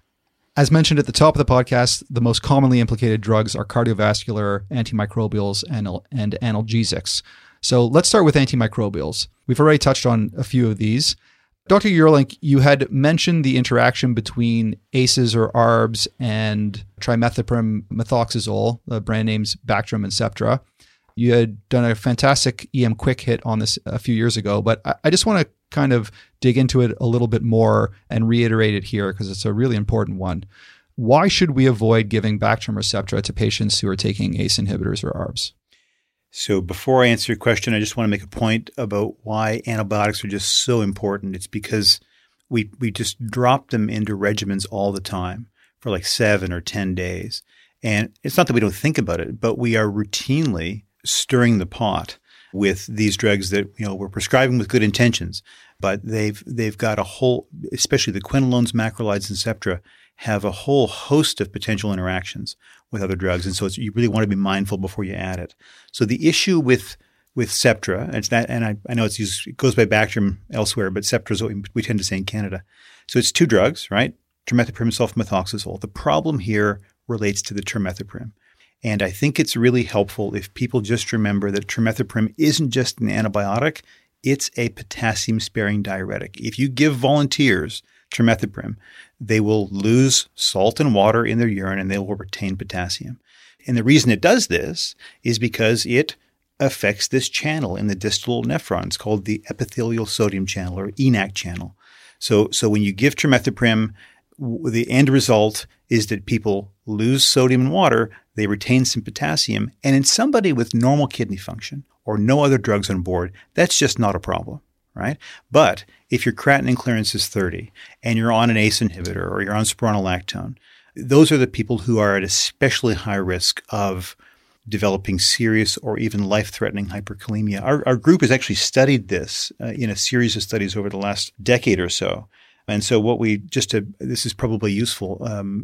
As mentioned at the top of the podcast, the most commonly implicated drugs are cardiovascular, antimicrobials, and analgesics. So let's start with antimicrobials. We've already touched on a few of these. Dr. Eurlink, you had mentioned the interaction between ACEs or ARBs and trimethoprim methoxazole, the brand names Bactrim and Septra. You had done a fantastic EM quick hit on this a few years ago, but I just want to kind of dig into it a little bit more and reiterate it here because it's a really important one. Why should we avoid giving Bactrim or Septra to patients who are taking ACE inhibitors or ARBs? So before I answer your question, I just want to make a point about why antibiotics are just so important. It's because we just drop them into regimens all the time for like 7 or 10 days. And it's not that we don't think about it, but we are routinely stirring the pot with these drugs that we're prescribing with good intentions, but they've got a whole, especially the quinolones, macrolides, and Septra, have a whole host of potential interactions with other drugs, and so you really want to be mindful before you add it. So the issue with Septra, I know it goes by Bactrim elsewhere, but Septra is what we tend to say in Canada. So it's 2 drugs, right? Trimethoprim, sulfamethoxazole. The problem here relates to the trimethoprim. And I think it's really helpful if people just remember that trimethoprim isn't just an antibiotic, it's a potassium-sparing diuretic. If you give volunteers trimethoprim, they will lose salt and water in their urine and they will retain potassium. And the reason it does this is because it affects this channel in the distal nephrons called the epithelial sodium channel or ENaC channel. So when you give trimethoprim, the end result is that people lose sodium and water, they retain some potassium, and in somebody with normal kidney function or no other drugs on board, that's just not a problem, right? But if your creatinine clearance is 30 and you're on an ACE inhibitor or you're on spironolactone, those are the people who are at especially high risk of developing serious or even life-threatening hyperkalemia. Our group has actually studied this in a series of studies over the last decade or so. And so this is probably useful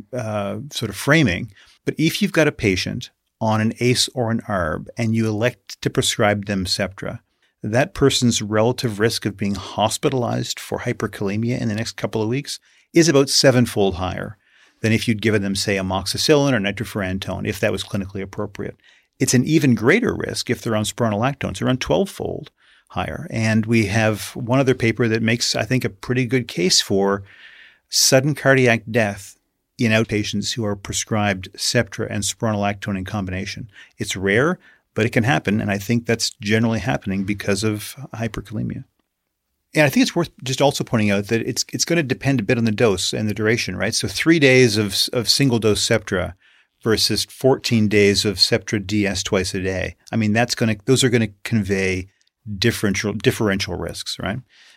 sort of framing, but if you've got a patient on an ACE or an ARB and you elect to prescribe them Septra, that person's relative risk of being hospitalized for hyperkalemia in the next couple of weeks is about 7-fold higher than if you'd given them, say, amoxicillin or nitrofurantoin, if that was clinically appropriate. It's an even greater risk if they're on spironolactones, around 12-fold higher. And we have one other paper that makes, I think, a pretty good case for sudden cardiac death in outpatients who are prescribed Septra and spironolactone in combination. It's rare, but it can happen, and I think that's generally happening because of hyperkalemia. And I think it's worth just also pointing out that it's going to depend a bit on the dose and the duration, right? So 3 days of single-dose Septra versus 14 days of Septra DS twice a day. I mean, those are going to convey differential risks, right?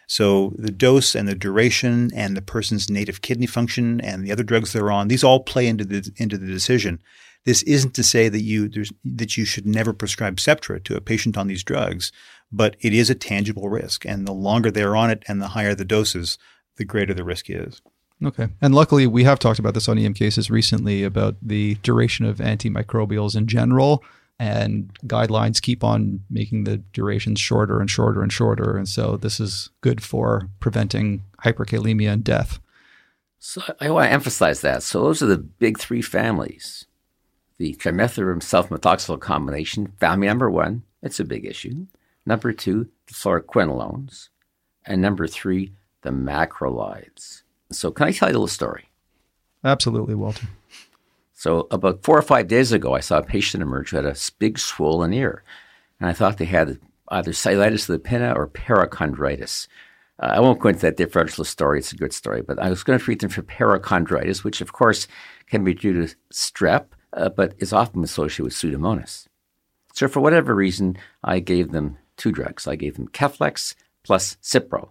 So the dose and the duration and the person's native kidney function and the other drugs they're on, these all play into the decision. This isn't to say that you should never prescribe Septra to a patient on these drugs, but it is a tangible risk. And the longer they're on it and the higher the doses, the greater the risk is. Okay. And luckily, we have talked about this on EM Cases recently about the duration of antimicrobials in general, and guidelines keep on making the durations shorter and shorter and shorter. And so this is good for preventing hyperkalemia and death. So I want to emphasize that. So those are the big three families. The trimethoprim sulfamethoxazole combination, family number 1, it's a big issue. Number 2, the fluoroquinolones. And number 3, the macrolides. So can I tell you a little story? Absolutely, Walter. So about 4 or 5 days ago, I saw a patient emerge who had a big swollen ear. And I thought they had either cellulitis of the pinna or perichondritis. I won't go into that differential story. It's a good story. But I was going to treat them for perichondritis, which, of course, can be due to strep, but is often associated with Pseudomonas. So for whatever reason, I gave them 2 drugs. I gave them Keflex plus Cipro.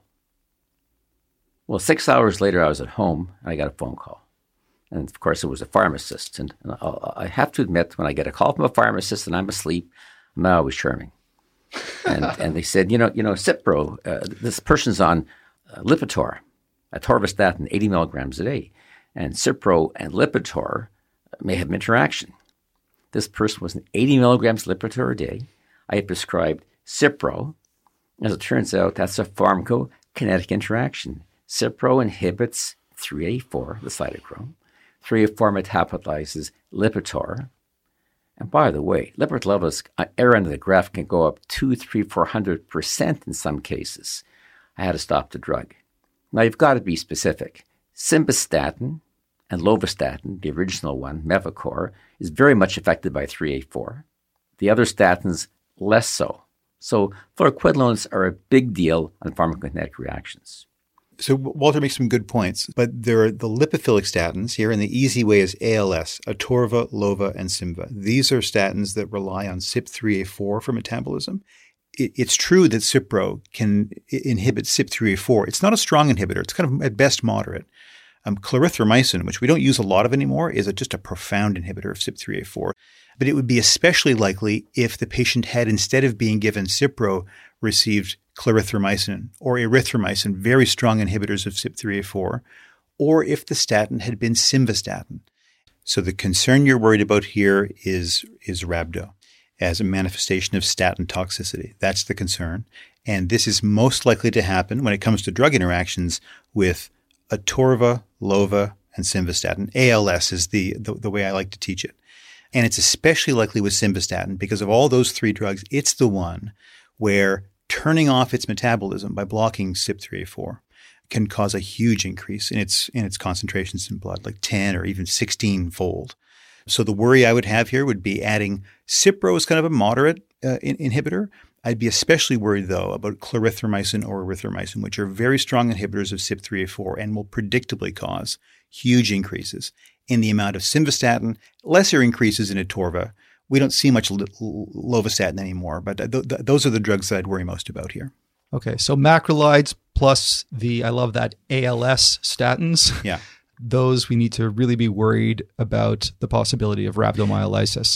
Well, 6 hours later, I was at home, and I got a phone call. And, of course, it was a pharmacist. And I have to admit, when I get a call from a pharmacist and I'm asleep, I'm not always charming. And they said, Cipro, this person's on Lipitor, atorvastatin, 80 milligrams a day. And Cipro and Lipitor may have interaction. This person was on 80 milligrams Lipitor a day. I had prescribed Cipro. As it turns out, that's a pharmacokinetic interaction. Cipro inhibits 3A4, the cytochrome. 3A4 metabolizes Lipitor. And by the way, Lipitor levels at the end of the graph can go up 200, 300, 400% in some cases. I had to stop the drug. Now, you've got to be specific. Simvastatin and lovastatin, the original one, Mevacor, is very much affected by 3A4. The other statins, less so. So fluoroquinolones are a big deal on pharmacokinetic reactions. So Walter makes some good points, but there are the lipophilic statins here, and the easy way is ALS, Atorva, Lova, and Simva. These are statins that rely on CYP3A4 for metabolism. It's true that Cipro can inhibit CYP3A4. It's not a strong inhibitor. It's kind of at best moderate. Clarithromycin, which we don't use a lot of anymore, is just a profound inhibitor of CYP3A4. But it would be especially likely if the patient had, instead of being given Cipro, received clarithromycin or erythromycin, very strong inhibitors of CYP3A4, or if the statin had been simvastatin. So the concern you're worried about here is rhabdo as a manifestation of statin toxicity. That's the concern. And this is most likely to happen when it comes to drug interactions with Atorva, Lova, and simvastatin. ALS is the way I like to teach it. And it's especially likely with simvastatin because of all those 3 drugs, it's the one where turning off its metabolism by blocking CYP3A4 can cause a huge increase in its concentrations in blood, like 10 or even 16-fold. So the worry I would have here would be adding Cipro as kind of a moderate inhibitor. I'd be especially worried, though, about clarithromycin or erythromycin, which are very strong inhibitors of CYP3A4 and will predictably cause huge increases in the amount of simvastatin, lesser increases in Atorva. We don't see much lovastatin anymore, but those are the drugs that I'd worry most about here. Okay, so macrolides plus I love that, ALS statins. Yeah. Those we need to really be worried about the possibility of rhabdomyolysis.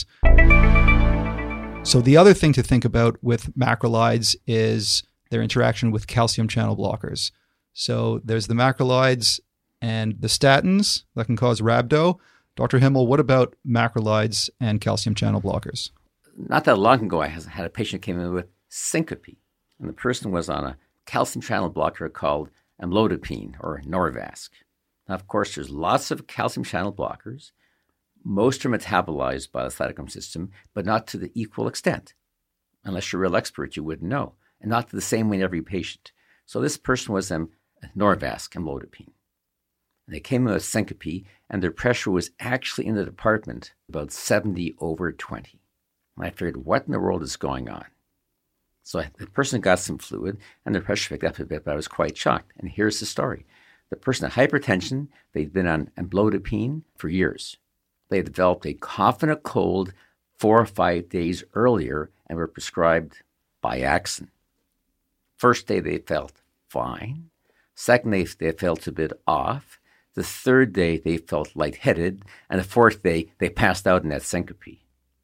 So the other thing to think about with macrolides is their interaction with calcium channel blockers. So there's the macrolides and the statins that can cause rhabdo. Dr. Himmel, what about macrolides and calcium channel blockers? Not that long ago, I had a patient came in with syncope, and the person was on a calcium channel blocker called amlodipine or Norvasc. Now, of course, there's lots of calcium channel blockers. Most are metabolized by the cytochrome system, but not to the equal extent. Unless you're a real expert, you wouldn't know, and not the same way in every patient. So this person was Norvasc, amlodipine. And they came in with syncope, and their pressure was actually in the department about 70/20. And I figured, what in the world is going on? So the person got some fluid, and their pressure picked up a bit, but I was quite shocked. And here's the story. The person had hypertension. They'd been on amlodipine for years. They had developed a confident cold 4 or 5 days earlier and were prescribed Biaxin. First day they felt fine. Second day, they felt a bit off. The third day, they felt lightheaded. And the fourth day, they passed out in that syncope.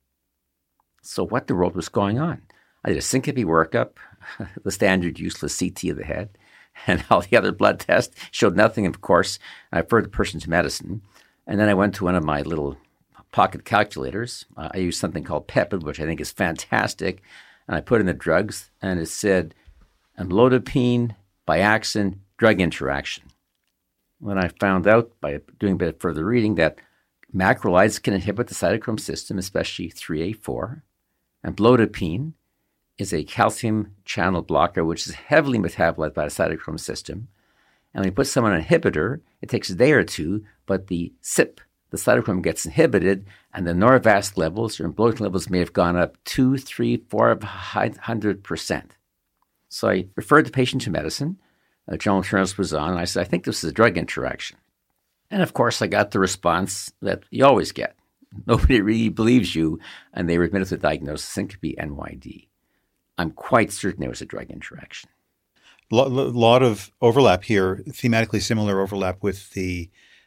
So what in the world was going on? I did a syncope workup, the standard useless CT of the head, and all the other blood tests showed nothing, of course. I referred the person to medicine. And then I went to one of my little pocket calculators. I used something called PEPID, which I think is fantastic. And I put in the drugs, and it said amlodipine, Biaxin, drug interaction. When I found out by doing a bit of further reading that macrolides can inhibit the cytochrome system, especially 3A4, and amlodipine is a calcium channel blocker, which is heavily metabolized by the cytochrome system. And when you put someone on an inhibitor, it takes a day or two, but the CYP, the cytochrome, gets inhibited, and the Norvasc levels or amlodipine levels may have gone up 2, 3, 400%. So I referred the patient to medicine. Journal Journals was on, and I said, I think this is a drug interaction. And of course, I got the response that you always get. Nobody really believes you, and they were admitted to the diagnosis syncope NYD. I'm quite certain there was a drug interaction. Lot of overlap here, thematically similar overlap with the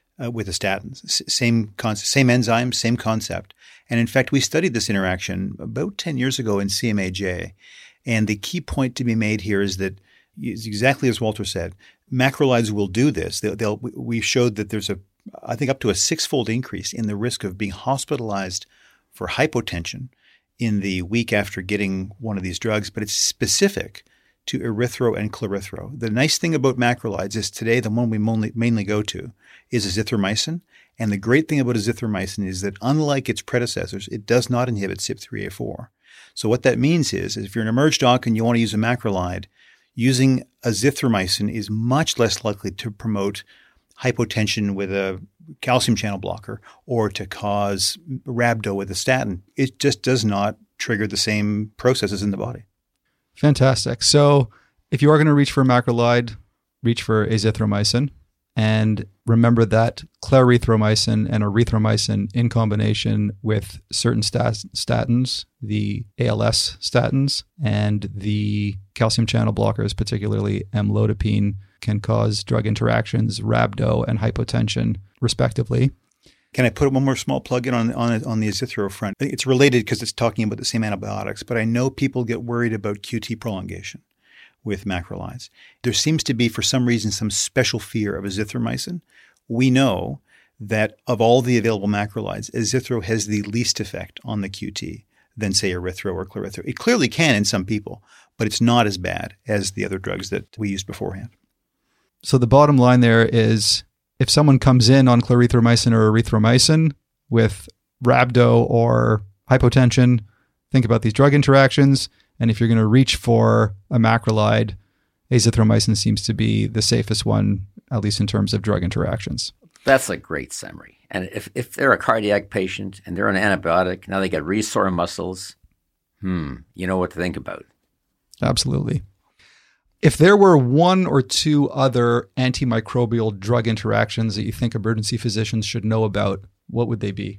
statins. Same concept, same enzyme, same concept. And in fact, we studied this interaction about 10 years ago in CMAJ. And the key point to be made here is that, exactly as Walter said, macrolides will do this. We showed that there's I think up to a 6-fold increase in the risk of being hospitalized for hypotension in the week after getting one of these drugs, but it's specific to erythro and chlorithro. The nice thing about macrolides is today the one we mainly go to is azithromycin. And the great thing about azithromycin is that unlike its predecessors, it does not inhibit CYP3A4. So what that means is if you're an emerge doc and you want to use a macrolide, using azithromycin is much less likely to promote hypotension with a calcium channel blocker or to cause rhabdo with a statin. It just does not trigger the same processes in the body. Fantastic. So if you are going to reach for a macrolide, reach for azithromycin. And remember that clarithromycin and erythromycin in combination with certain statins, the ALS statins and the calcium channel blockers, particularly amlodipine, can cause drug interactions, rhabdo, and hypotension, respectively. Can I put one more small plug in on the azithro front? It's related because it's talking about the same antibiotics, but I know people get worried about QT prolongation with macrolides. There seems to be, for some reason, some special fear of azithromycin. We know that of all the available macrolides, azithro has the least effect on the QT than, say, erythro or chlorithro. It clearly can in some people, but it's not as bad as the other drugs that we used beforehand. So the bottom line there is if someone comes in on clarithromycin or erythromycin with rhabdo or hypotension, think about these drug interactions. And if you're going to reach for a macrolide, azithromycin seems to be the safest one, at least in terms of drug interactions. That's a great summary. And if they're a cardiac patient and they're on an antibiotic, now they get really sore muscles, you know what to think about. Absolutely. If there were one or two other antimicrobial drug interactions that you think emergency physicians should know about, what would they be?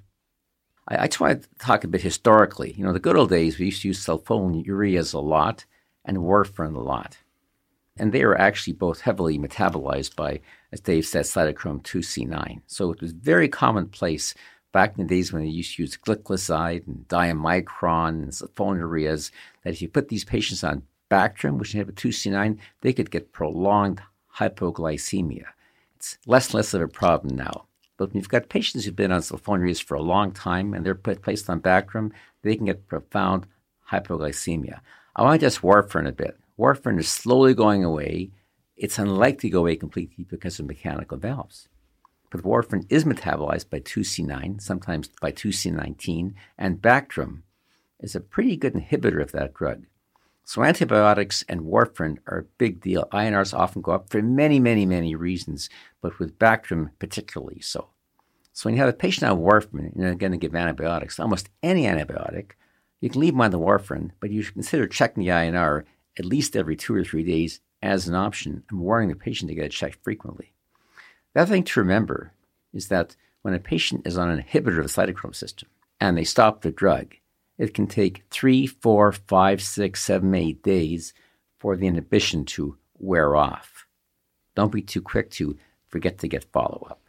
I try to talk a bit historically. You know, the good old days, we used to use sulfonylureas a lot and warfarin a lot. And they are actually both heavily metabolized by, as Dave said, cytochrome 2C9. So it was very commonplace back in the days when they used to use glycoside and diamicron and sulfonylureas, that if you put these patients on Bactrim, which inhibit 2C9, they could get prolonged hypoglycemia. It's less and less of a problem now. But when you've got patients who've been on sulfonylureas for a long time and they're placed on Bactrim, they can get profound hypoglycemia. I want to just warfarin a bit. Warfarin is slowly going away. It's unlikely to go away completely because of mechanical valves. But warfarin is metabolized by 2C9, sometimes by 2C19, and Bactrim is a pretty good inhibitor of that drug. So antibiotics and warfarin are a big deal. INRs often go up for many, many, many reasons, but with Bactrim particularly so. So when you have a patient on warfarin and you're going to give antibiotics, almost any antibiotic, you can leave them on the warfarin, but you should consider checking the INR at least every 2 or 3 days as an option and warning the patient to get it checked frequently. The other thing to remember is that when a patient is on an inhibitor of the cytochrome system and they stop the drug, it can take 3, 4, 5, 6, 7, 8 days for the inhibition to wear off. Don't be too quick to forget to get follow-up.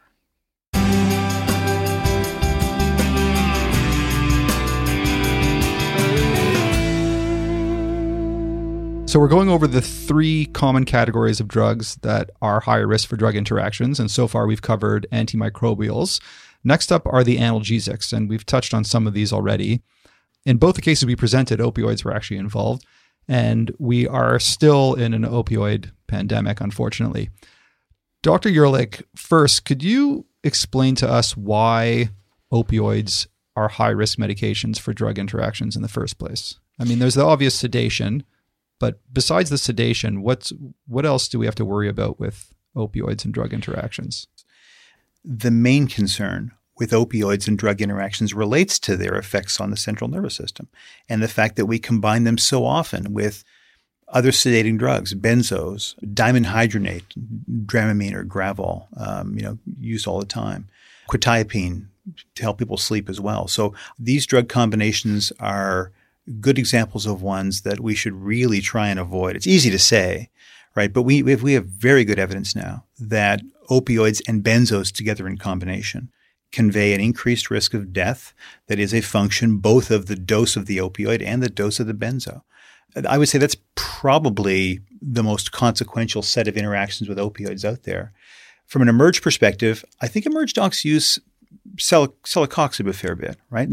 So we're going over the 3 common categories of drugs that are higher risk for drug interactions. And so far we've covered antimicrobials. Next up are the analgesics, and we've touched on some of these already. In both the cases we presented, opioids were actually involved, and we are still in an opioid pandemic, unfortunately. Dr. Ehrlich, first, could you explain to us why opioids are high-risk medications for drug interactions in the first place? I mean, there's the obvious sedation, but besides the sedation, what else do we have to worry about with opioids and drug interactions? The main concern with opioids and drug interactions relates to their effects on the central nervous system and the fact that we combine them so often with other sedating drugs, benzos, dimenhydrinate, Dramamine or Gravol, used all the time, quetiapine to help people sleep as well. So these drug combinations are good examples of ones that we should really try and avoid. It's easy to say, right? But we have very good evidence now that opioids and benzos together in combination convey an increased risk of death that is a function both of the dose of the opioid and the dose of the benzo. I would say that's probably the most consequential set of interactions with opioids out there. From an Emerge perspective, I think Emerge docs use celecoxib a fair bit, right?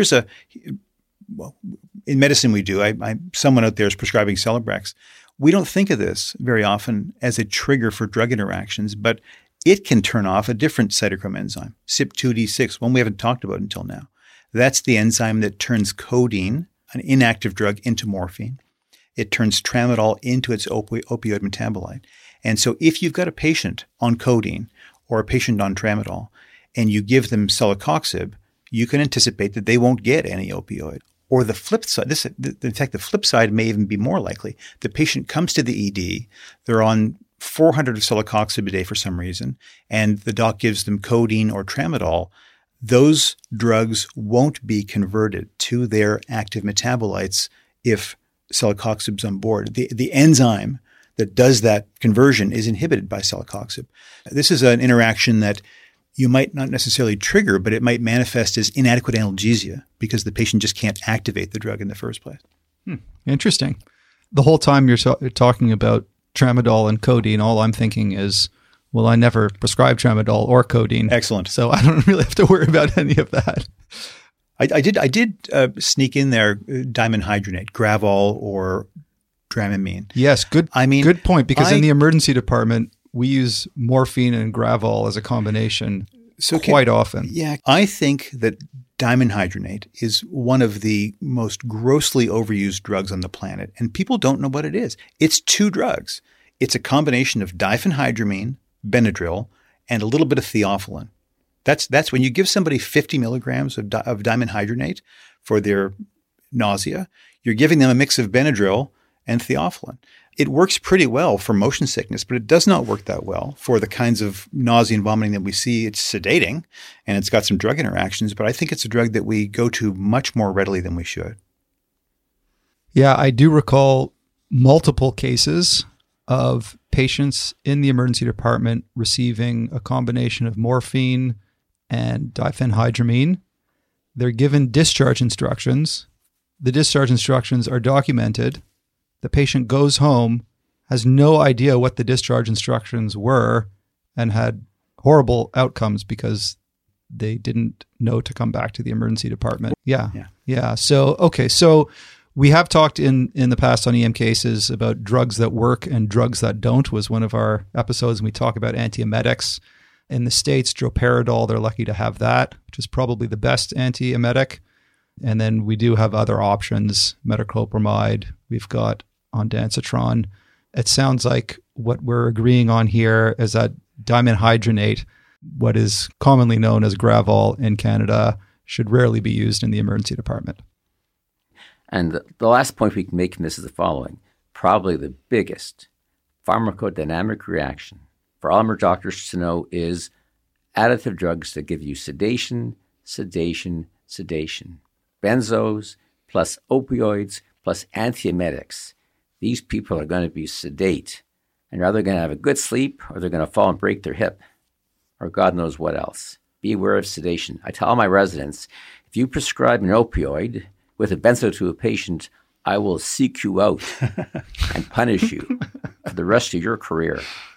In medicine we do. Someone out there is prescribing Celebrex. We don't think of this very often as a trigger for drug interactions, but it can turn off a different cytochrome enzyme, CYP2D6, one we haven't talked about until now. That's the enzyme that turns codeine, an inactive drug, into morphine. It turns tramadol into its opioid metabolite. And so if you've got a patient on codeine or a patient on tramadol and you give them celecoxib, you can anticipate that they won't get any opioid. Or the flip side, in fact, the flip side may even be more likely. The patient comes to the ED, they're on 400 of celecoxib a day for some reason, and the doc gives them codeine or tramadol. Those drugs won't be converted to their active metabolites if celecoxib's on board. The enzyme that does that conversion is inhibited by celecoxib. This is an interaction that you might not necessarily trigger, but it might manifest as inadequate analgesia because the patient just can't activate the drug in the first place. Interesting. The whole time you're talking about tramadol and codeine, all I'm thinking is, well, I never prescribe tramadol or codeine. Excellent. So I don't really have to worry about any of that. I did sneak in there dimenhydrinate, Gravol or Dramamine. Yes, good point, because in the emergency department, we use morphine and Gravol as a combination quite often. Yeah, I think that dimenhydrinate is one of the most grossly overused drugs on the planet, and people don't know what it is. It's 2 drugs. It's a combination of diphenhydramine, Benadryl, and a little bit of theophylline. That's when you give somebody 50 milligrams of dimenhydrinate for their nausea, you're giving them a mix of Benadryl and theophylline. It works pretty well for motion sickness, but it does not work that well for the kinds of nausea and vomiting that we see. It's sedating and it's got some drug interactions, but I think it's a drug that we go to much more readily than we should. Yeah, I do recall multiple cases of patients in the emergency department receiving a combination of morphine and diphenhydramine. They're given discharge instructions. The discharge instructions are documented. The patient goes home, has no idea what the discharge instructions were, and had horrible outcomes because they didn't know to come back to the emergency department. Yeah. So we have talked in the past on EM cases about drugs that work and drugs that don't was one of our episodes. And we talk about antiemetics. In the States, droperidol, they're lucky to have that, which is probably the best antiemetic. And then we do have other options, metoclopramide. We've got ondansetron. It sounds like what we're agreeing on here is that dimenhydrinate, what is commonly known as Gravol in Canada, should rarely be used in the emergency department. And the last point we can make from this is the following. Probably the biggest pharmacodynamic reaction for all Emerge doctors to know is additive drugs that give you sedation. Benzos plus opioids plus antiemetics. These people are going to be sedate And they're either going to have a good sleep or they're going to fall and break their hip or God knows what else. Be aware of sedation. I tell my residents, if you prescribe an opioid with a benzo to a patient, I will seek you out and punish you for the rest of your career.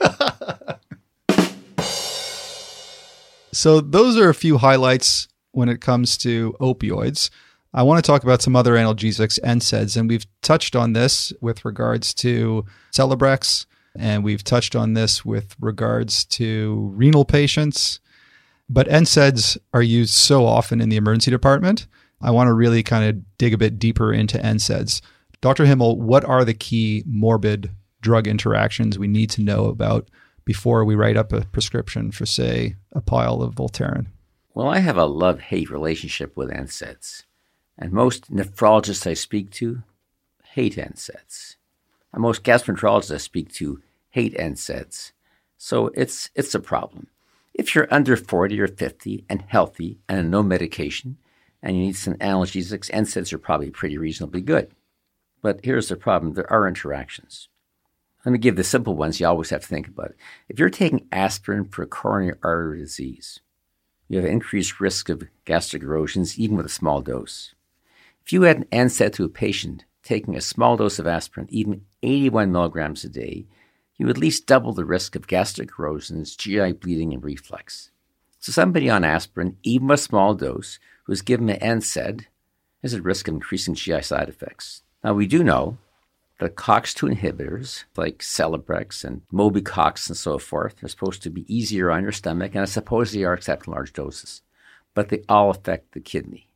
So those are a few highlights when it comes to opioids. I want to talk about some other analgesics, NSAIDs, and we've touched on this with regards to Celebrex, and we've touched on this with regards to renal patients. But NSAIDs are used so often in the emergency department. I want to really kind of dig a bit deeper into NSAIDs. Dr. Himmel, what are the key morbid drug interactions we need to know about before we write up a prescription for, say, a pile of Voltaren? Well, I have a love-hate relationship with NSAIDs. And most nephrologists I speak to hate NSAIDs. And most gastroenterologists I speak to hate NSAIDs. So it's a problem. If you're under 40 or 50 and healthy and on no medication and you need some analgesics, NSAIDs are probably pretty reasonably good. But here's the problem. There are interactions. Let me give the simple ones you always have to think about. If you're taking aspirin for coronary artery disease, you have an increased risk of gastric erosions even with a small dose. If you had an NSAID to a patient taking a small dose of aspirin, even 81 milligrams a day, you at least double the risk of gastric erosions, GI bleeding, and reflux. So somebody on aspirin, even a small dose, who is given an NSAID, is at risk of increasing GI side effects. Now, we do know that COX-2 inhibitors, like Celebrex and Mobicox and so forth, are supposed to be easier on your stomach, and I suppose they are except in large doses. But they all affect the kidney.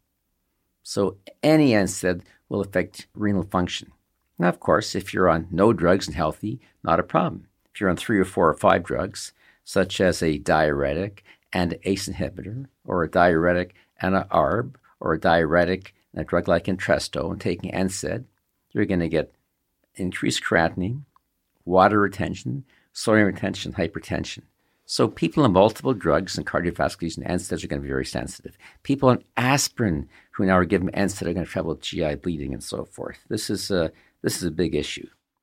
So any NSAID will affect renal function. Now, of course, if you're on no drugs and healthy, not a problem. If you're on 3 or 4 or 5 drugs, such as a diuretic and an ACE inhibitor, or a diuretic and an ARB, or a diuretic and a drug like Entresto, and taking NSAID, you're going to get increased creatinine, water retention, sodium retention, hypertension. So people on multiple drugs and cardiovascular and NSAIDs are going to be very sensitive. People on aspirin who now are given NSAID are going to have trouble with GI bleeding and so forth. This is a big issue.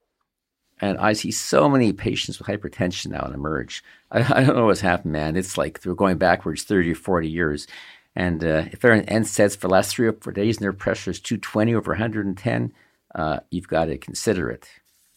And I see so many patients with hypertension now in Emerge. I don't know what's happened, man. It's like they're going backwards 30 or 40 years. And if they're on NSAIDs for the last 3 or 4 days and their pressure is 220 over 110, you've got to consider it.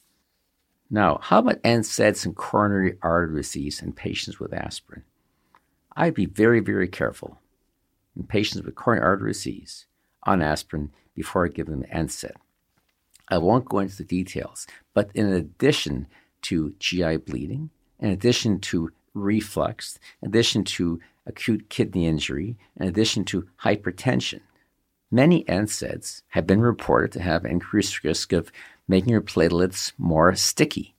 Now, how about NSAIDs and coronary artery disease in patients with aspirin? I'd be very, very careful in patients with coronary artery disease on aspirin before I give them NSAID. I won't go into the details, but in addition to GI bleeding, in addition to reflux, in addition to acute kidney injury, in addition to hypertension, many NSAIDs have been reported to have increased risk of making your platelets more sticky.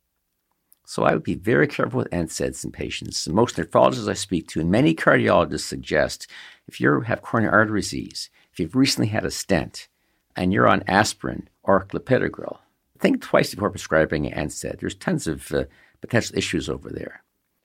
So I would be very careful with NSAIDs in patients. Most nephrologists I speak to and many cardiologists suggest if you have coronary artery disease, if you've recently had a stent and you're on aspirin or clopidogrel, think twice before prescribing an NSAID. There's tons of potential issues over there.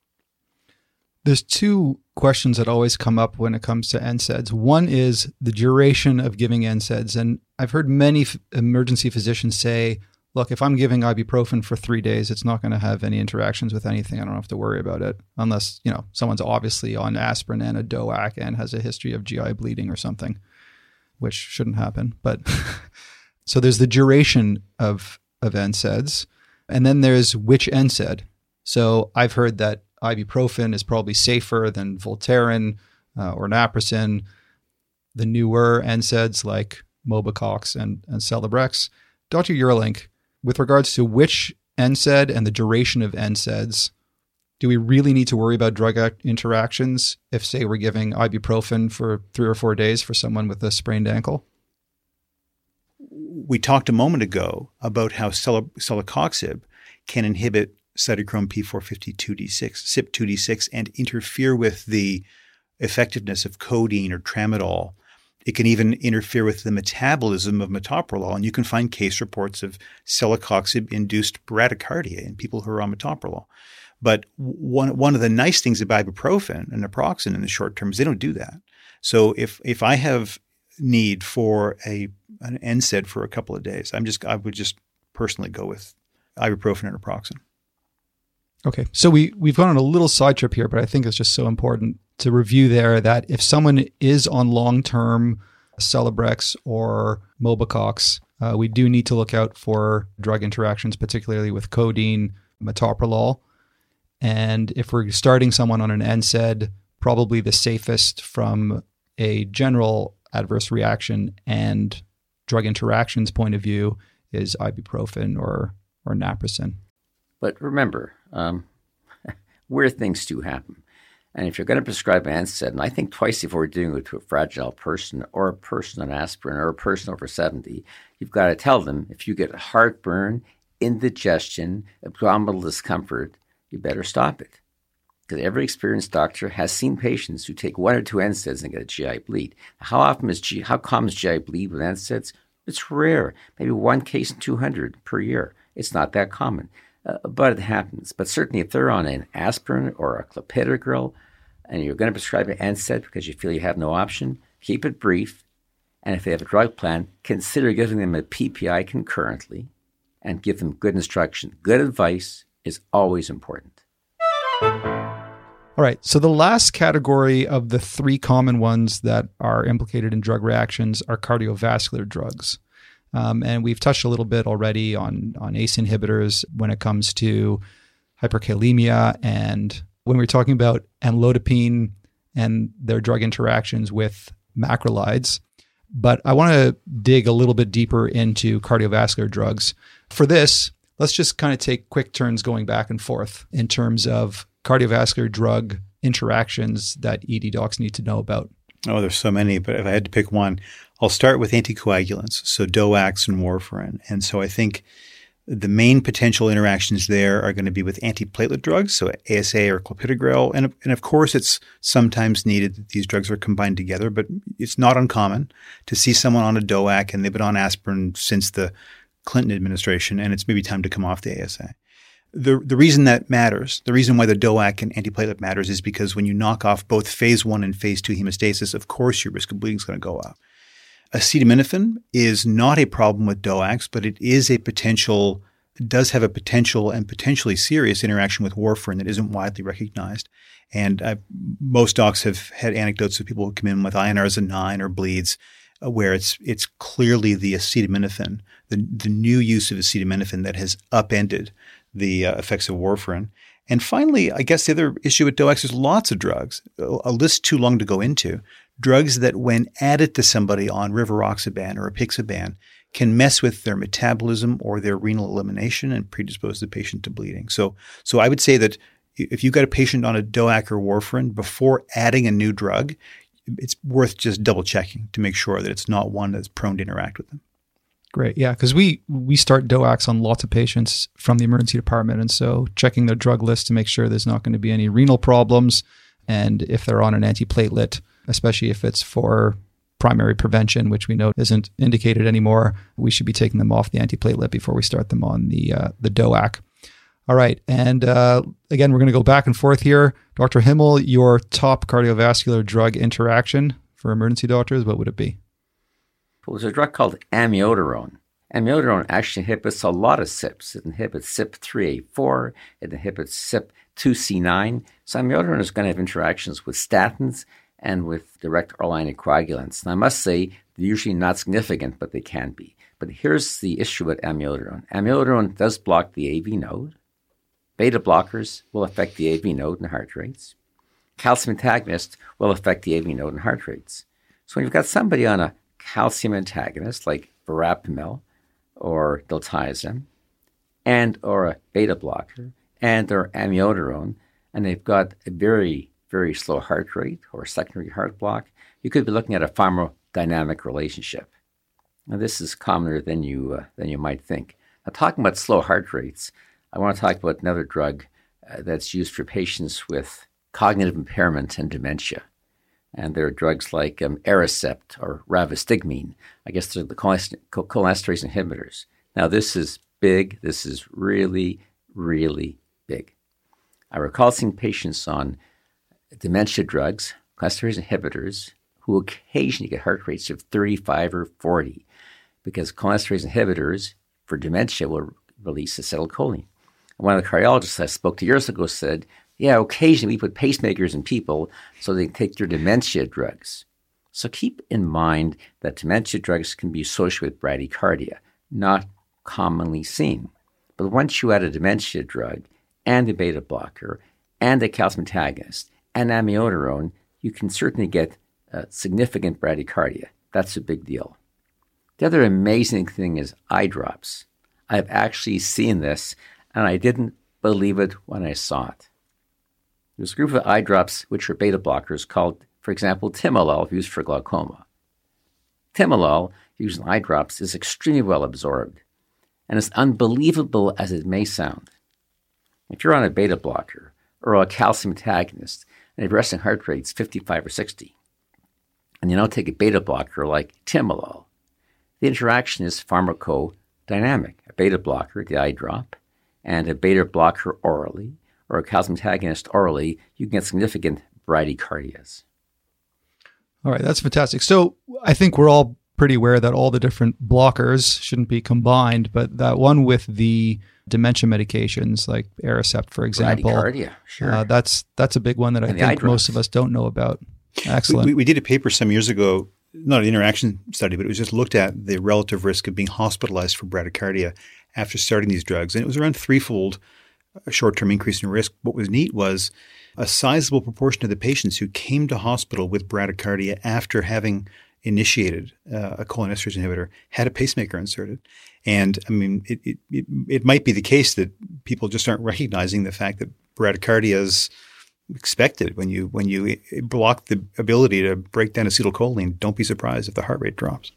There's 2 questions that always come up when it comes to NSAIDs. One is the duration of giving NSAIDs. And I've heard many emergency physicians say, look, if I'm giving ibuprofen for 3 days, it's not going to have any interactions with anything. I don't have to worry about it unless, someone's obviously on aspirin and a DOAC and has a history of GI bleeding or something, which shouldn't happen. But so there's the duration of NSAIDs. And then there's which NSAID. So I've heard that ibuprofen is probably safer than Voltaren or naproxen. The newer NSAIDs like Mobicox and Celebrex. Dr. Eurlink, with regards to which NSAID and the duration of NSAIDs, do we really need to worry about drug interactions if, say, we're giving ibuprofen for 3 or 4 days for someone with a sprained ankle? We talked a moment ago about how celecoxib can inhibit cytochrome P450-2D6, CYP2D6, and interfere with the effectiveness of codeine or tramadol. It can even interfere with the metabolism of metoprolol, and you can find case reports of celecoxib-induced bradycardia in people who are on metoprolol. But one of the nice things about ibuprofen and naproxen in the short term is they don't do that. So if I have need for an NSAID for a couple of days, I would just personally go with ibuprofen and naproxen. Okay, so we've gone on a little side trip here, but I think it's just so important to review there that if someone is on long-term Celebrex or Mobicox, we do need to look out for drug interactions, particularly with codeine, metoprolol. And if we're starting someone on an NSAID, probably the safest from a general adverse reaction and drug interactions point of view is ibuprofen or naproxen. But remember, weird things do happen. And if you're going to prescribe an NSAID, and I think twice before doing it to a fragile person or a person on aspirin or a person over 70, you've got to tell them if you get heartburn, indigestion, abdominal discomfort, you better stop it. Because every experienced doctor has seen patients who take 1 or 2 NSAIDs and get a GI bleed. How common is GI bleed with NSAIDs? It's rare, maybe 1 case in 200 per year. It's not that common. But it happens. But certainly if they're on an aspirin or a clopidogrel and you're going to prescribe an NSAID because you feel you have no option, keep it brief. And if they have a drug plan, consider giving them a PPI concurrently and give them good instruction. Good advice is always important. All right. So the last category of the 3 common ones that are implicated in drug reactions are cardiovascular drugs. And we've touched a little bit already on ACE inhibitors when it comes to hyperkalemia, and when we're talking about amlodipine and their drug interactions with macrolides. But I want to dig a little bit deeper into cardiovascular drugs. For this, let's just kind of take quick turns going back and forth in terms of cardiovascular drug interactions that ED docs need to know about. Oh, there's so many, but if I had to pick one, I'll start with anticoagulants, so DOACs and warfarin. And so I think the main potential interactions there are going to be with antiplatelet drugs, so ASA or clopidogrel. And of course, it's sometimes needed that these drugs are combined together, but it's not uncommon to see someone on a DOAC and they've been on aspirin since the Clinton administration, and it's maybe time to come off the ASA. The reason that matters, the reason why the DOAC and antiplatelet matters is because when you knock off both phase 1 and phase 2 hemostasis, of course your risk of bleeding is going to go up. Acetaminophen is not a problem with DOACs, but it does have a potential and potentially serious interaction with warfarin that isn't widely recognized. And most docs have had anecdotes of people who come in with INRs of 9 or bleeds where it's clearly the acetaminophen, the new use of acetaminophen that has upended the effects of warfarin. And finally, I guess the other issue with DOACs is lots of drugs, a list too long to go into, drugs that when added to somebody on rivaroxaban or apixaban can mess with their metabolism or their renal elimination and predispose the patient to bleeding. So I would say that if you've got a patient on a DOAC or warfarin, before adding a new drug, it's worth just double checking to make sure that it's not one that's prone to interact with them. Great. Yeah, because we start DOACs on lots of patients from the emergency department. And so checking their drug list to make sure there's not going to be any renal problems. And if they're on an antiplatelet, especially if it's for primary prevention, which we know isn't indicated anymore, we should be taking them off the antiplatelet before we start them on the DOAC. All right. And again, we're going to go back and forth here. Dr. Himmel, your top cardiovascular drug interaction for emergency doctors, what would it be? Well, there's a drug called amiodarone. Amiodarone actually inhibits a lot of CYPs. It inhibits CYP3A4. It inhibits CYP2C9. So amiodarone is going to have interactions with statins and with direct oral anticoagulants. And I must say, they're usually not significant, but they can be. But here's the issue with amiodarone. Amiodarone does block the AV node. Beta blockers will affect the AV node and heart rates. Calcium antagonists will affect the AV node and heart rates. So when you've got somebody on a calcium antagonist like verapamil or diltiazem and or a beta blocker and or amiodarone, and they've got a very, very slow heart rate or secondary heart block, you could be looking at a pharmacodynamic relationship. Now, this is commoner than you might think. Now, talking about slow heart rates, I want to talk about another drug that's used for patients with cognitive impairment and dementia. And there are drugs like Aricept or Rivastigmine. I guess they're the cholinesterase inhibitors. Now, this is big. This is really, really big. I recall seeing patients on dementia drugs, cholinesterase inhibitors, who occasionally get heart rates of 35 or 40 because cholinesterase inhibitors for dementia will release acetylcholine. One of the cardiologists I spoke to years ago said, yeah, occasionally we put pacemakers in people so they can take their dementia drugs. So keep in mind that dementia drugs can be associated with bradycardia, not commonly seen. But once you add a dementia drug and a beta blocker and a calcium antagonist and amiodarone, you can certainly get significant bradycardia. That's a big deal. The other amazing thing is eye drops. I've actually seen this, and I didn't believe it when I saw it. There's a group of eye drops which are beta blockers called, for example, timolol, used for glaucoma. Timolol, used in eye drops, is extremely well absorbed, and as unbelievable as it may sound, if you're on a beta blocker or a calcium antagonist and your resting heart rate's 55 or 60, and you now take a beta blocker like timolol, the interaction is pharmacodynamic. A beta blocker, the eye drop, and a beta blocker orally, or a calcium antagonist orally, you can get significant bradycardias. All right, that's fantastic. So I think we're all pretty aware that all the different blockers shouldn't be combined, but that one with the dementia medications like Aricept, for example, bradycardia, sure. That's a big one that I think most of us don't know about. Excellent. We did a paper some years ago, not an interaction study, but it was just looked at the relative risk of being hospitalized for bradycardia after starting these drugs. And it was around threefold short-term increase in risk. What was neat was a sizable proportion of the patients who came to hospital with bradycardia after having initiated a cholinesterase inhibitor had a pacemaker inserted. And I mean, it might be the case that people just aren't recognizing the fact that bradycardia is expected when you block the ability to break down acetylcholine. Don't be surprised if the heart rate drops.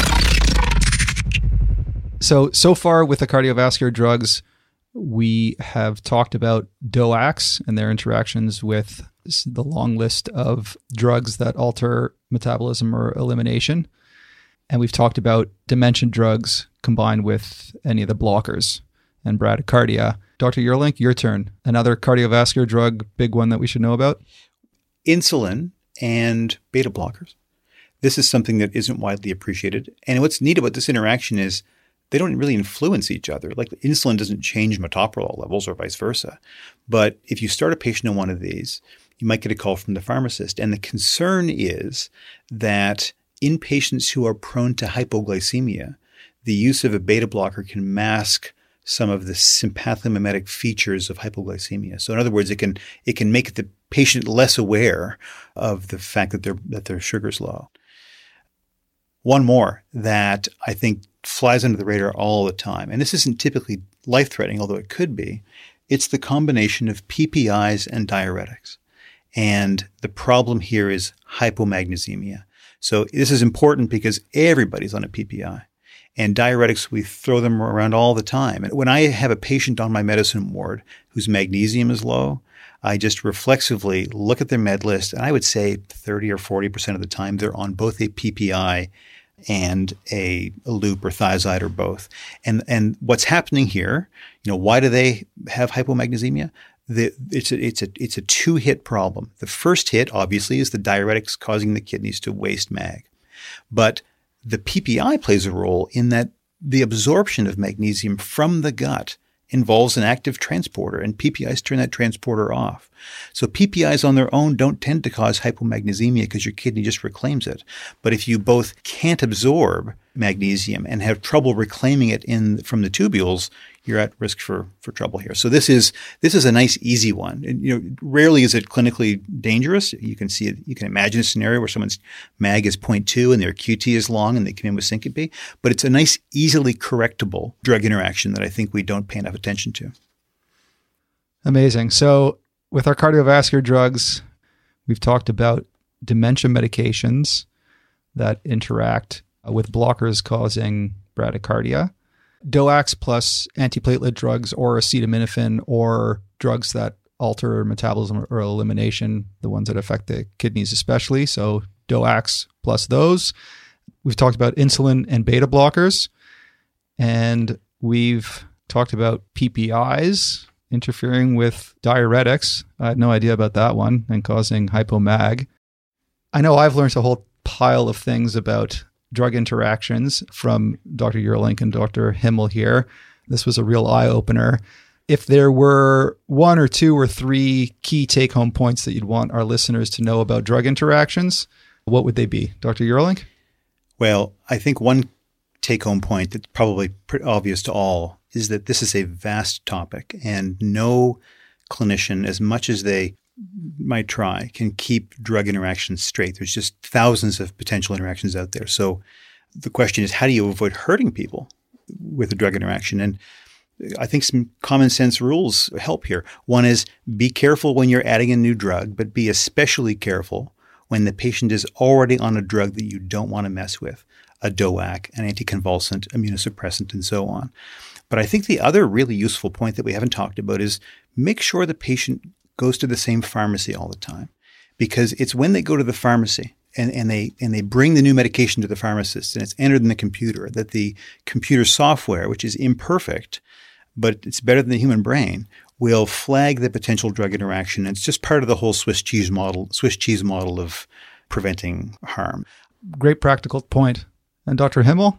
So far with the cardiovascular drugs, we have talked about DOACs and their interactions with the long list of drugs that alter metabolism or elimination. And we've talked about dementia drugs combined with any of the blockers and bradycardia. Dr. Yerlink, your turn. Another cardiovascular drug, big one that we should know about? Insulin and beta blockers. This is something that isn't widely appreciated. And what's neat about this interaction is they don't really influence each other. Like insulin doesn't change metoprolol levels or vice versa. But if you start a patient on one of these, you might get a call from the pharmacist. And the concern is that in patients who are prone to hypoglycemia, the use of a beta blocker can mask some of the sympathomimetic features of hypoglycemia. So in other words, it can make the patient less aware of the fact that their sugar's low. One more that I think flies under the radar all the time, and this isn't typically life-threatening, although it could be, it's the combination of PPIs and diuretics. And the problem here is hypomagnesemia. So this is important because everybody's on a PPI. And diuretics, we throw them around all the time. And when I have a patient on my medicine ward whose magnesium is low, I just reflexively look at their med list, and I would say 30 or 40% of the time they're on both a PPI and a loop or thiazide or both. And what's happening here, why do they have hypomagnesemia? It's a two-hit problem. The first hit, obviously, is the diuretics causing the kidneys to waste mag. But the PPI plays a role in that the absorption of magnesium from the gut involves an active transporter, and PPIs turn that transporter off. So PPIs on their own don't tend to cause hypomagnesemia because your kidney just reclaims it. But if you both can't absorb magnesium and have trouble reclaiming it from the tubules, you're at risk for trouble here. So this is a nice, easy one. And, rarely is it clinically dangerous. You can see it. You can imagine a scenario where someone's mag is 0.2 and their QT is long and they come in with syncope. But it's a nice, easily correctable drug interaction that I think we don't pay enough attention to. Amazing. So with our cardiovascular drugs, we've talked about dementia medications that interact with blockers causing bradycardia. DOACs plus antiplatelet drugs or acetaminophen or drugs that alter metabolism or elimination, the ones that affect the kidneys especially. So DOACs plus those. We've talked about insulin and beta blockers. And we've talked about PPIs interfering with diuretics. I had no idea about that one and causing hypomag. I know I've learned a whole pile of things about drug interactions from Dr. Yerlink and Dr. Himmel here. This was a real eye-opener. if there were one or two or three key take-home points that you'd want our listeners to know about drug interactions, what would they be? Dr. Yerling? Well, I think one take-home point that's probably pretty obvious to all is that this is a vast topic, and no clinician, as much as they might try, can keep drug interactions straight. There's just thousands of potential interactions out there. So the question is, how do you avoid hurting people with a drug interaction? And I think some common sense rules help here. One is be careful when you're adding a new drug, but be especially careful when the patient is already on a drug that you don't want to mess with, a DOAC, an anticonvulsant, immunosuppressant, and so on. But I think the other really useful point that we haven't talked about is make sure the patient goes to the same pharmacy all the time, because it's when they go to the pharmacy and they bring the new medication to the pharmacist and it's entered in the computer that the computer software, which is imperfect, but it's better than the human brain, will flag the potential drug interaction. It's just part of the whole Swiss cheese model of preventing harm. Great practical point. And Dr. Himmel?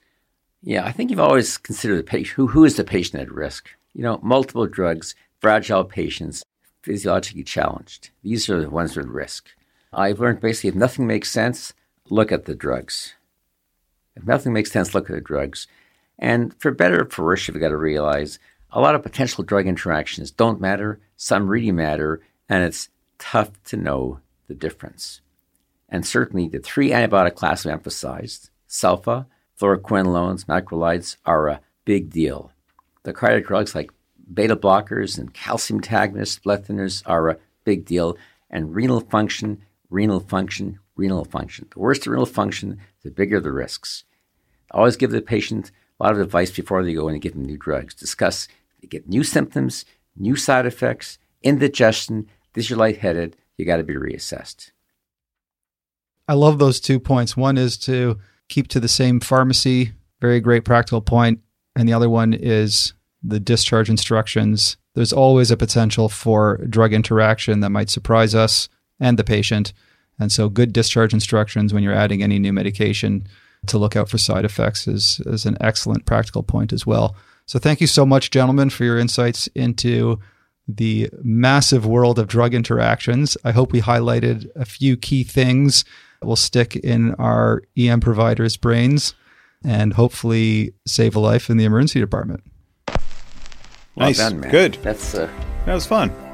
Yeah, I think you've always considered the patient. Who is the patient at risk? Multiple drugs, fragile patients, physiologically challenged. These are the ones at risk. I've learned basically if nothing makes sense, look at the drugs. If nothing makes sense, look at the drugs. And for better or for worse, you've got to realize a lot of potential drug interactions don't matter, some really matter, and it's tough to know the difference. And certainly the three antibiotic classes we emphasized, sulfa, fluoroquinolones, macrolides, are a big deal. The cardiac drugs like beta blockers and calcium antagonists, blood thinners are a big deal. And renal function. The worse the renal function, the bigger the risks. Always give the patient a lot of advice before they go in and give them new drugs. Discuss, they get new symptoms, new side effects, indigestion, this you're lightheaded, you got to be reassessed. I love those 2 points. One is to keep to the same pharmacy, very great practical point. And the other one is the discharge instructions. There's always a potential for drug interaction that might surprise us and the patient. And so good discharge instructions when you're adding any new medication to look out for side effects is an excellent practical point as well. So thank you so much, gentlemen, for your insights into the massive world of drug interactions. I hope we highlighted a few key things that will stick in our EM providers' brains and hopefully save a life in the emergency department. Nice. Well done, man. Good. That was fun.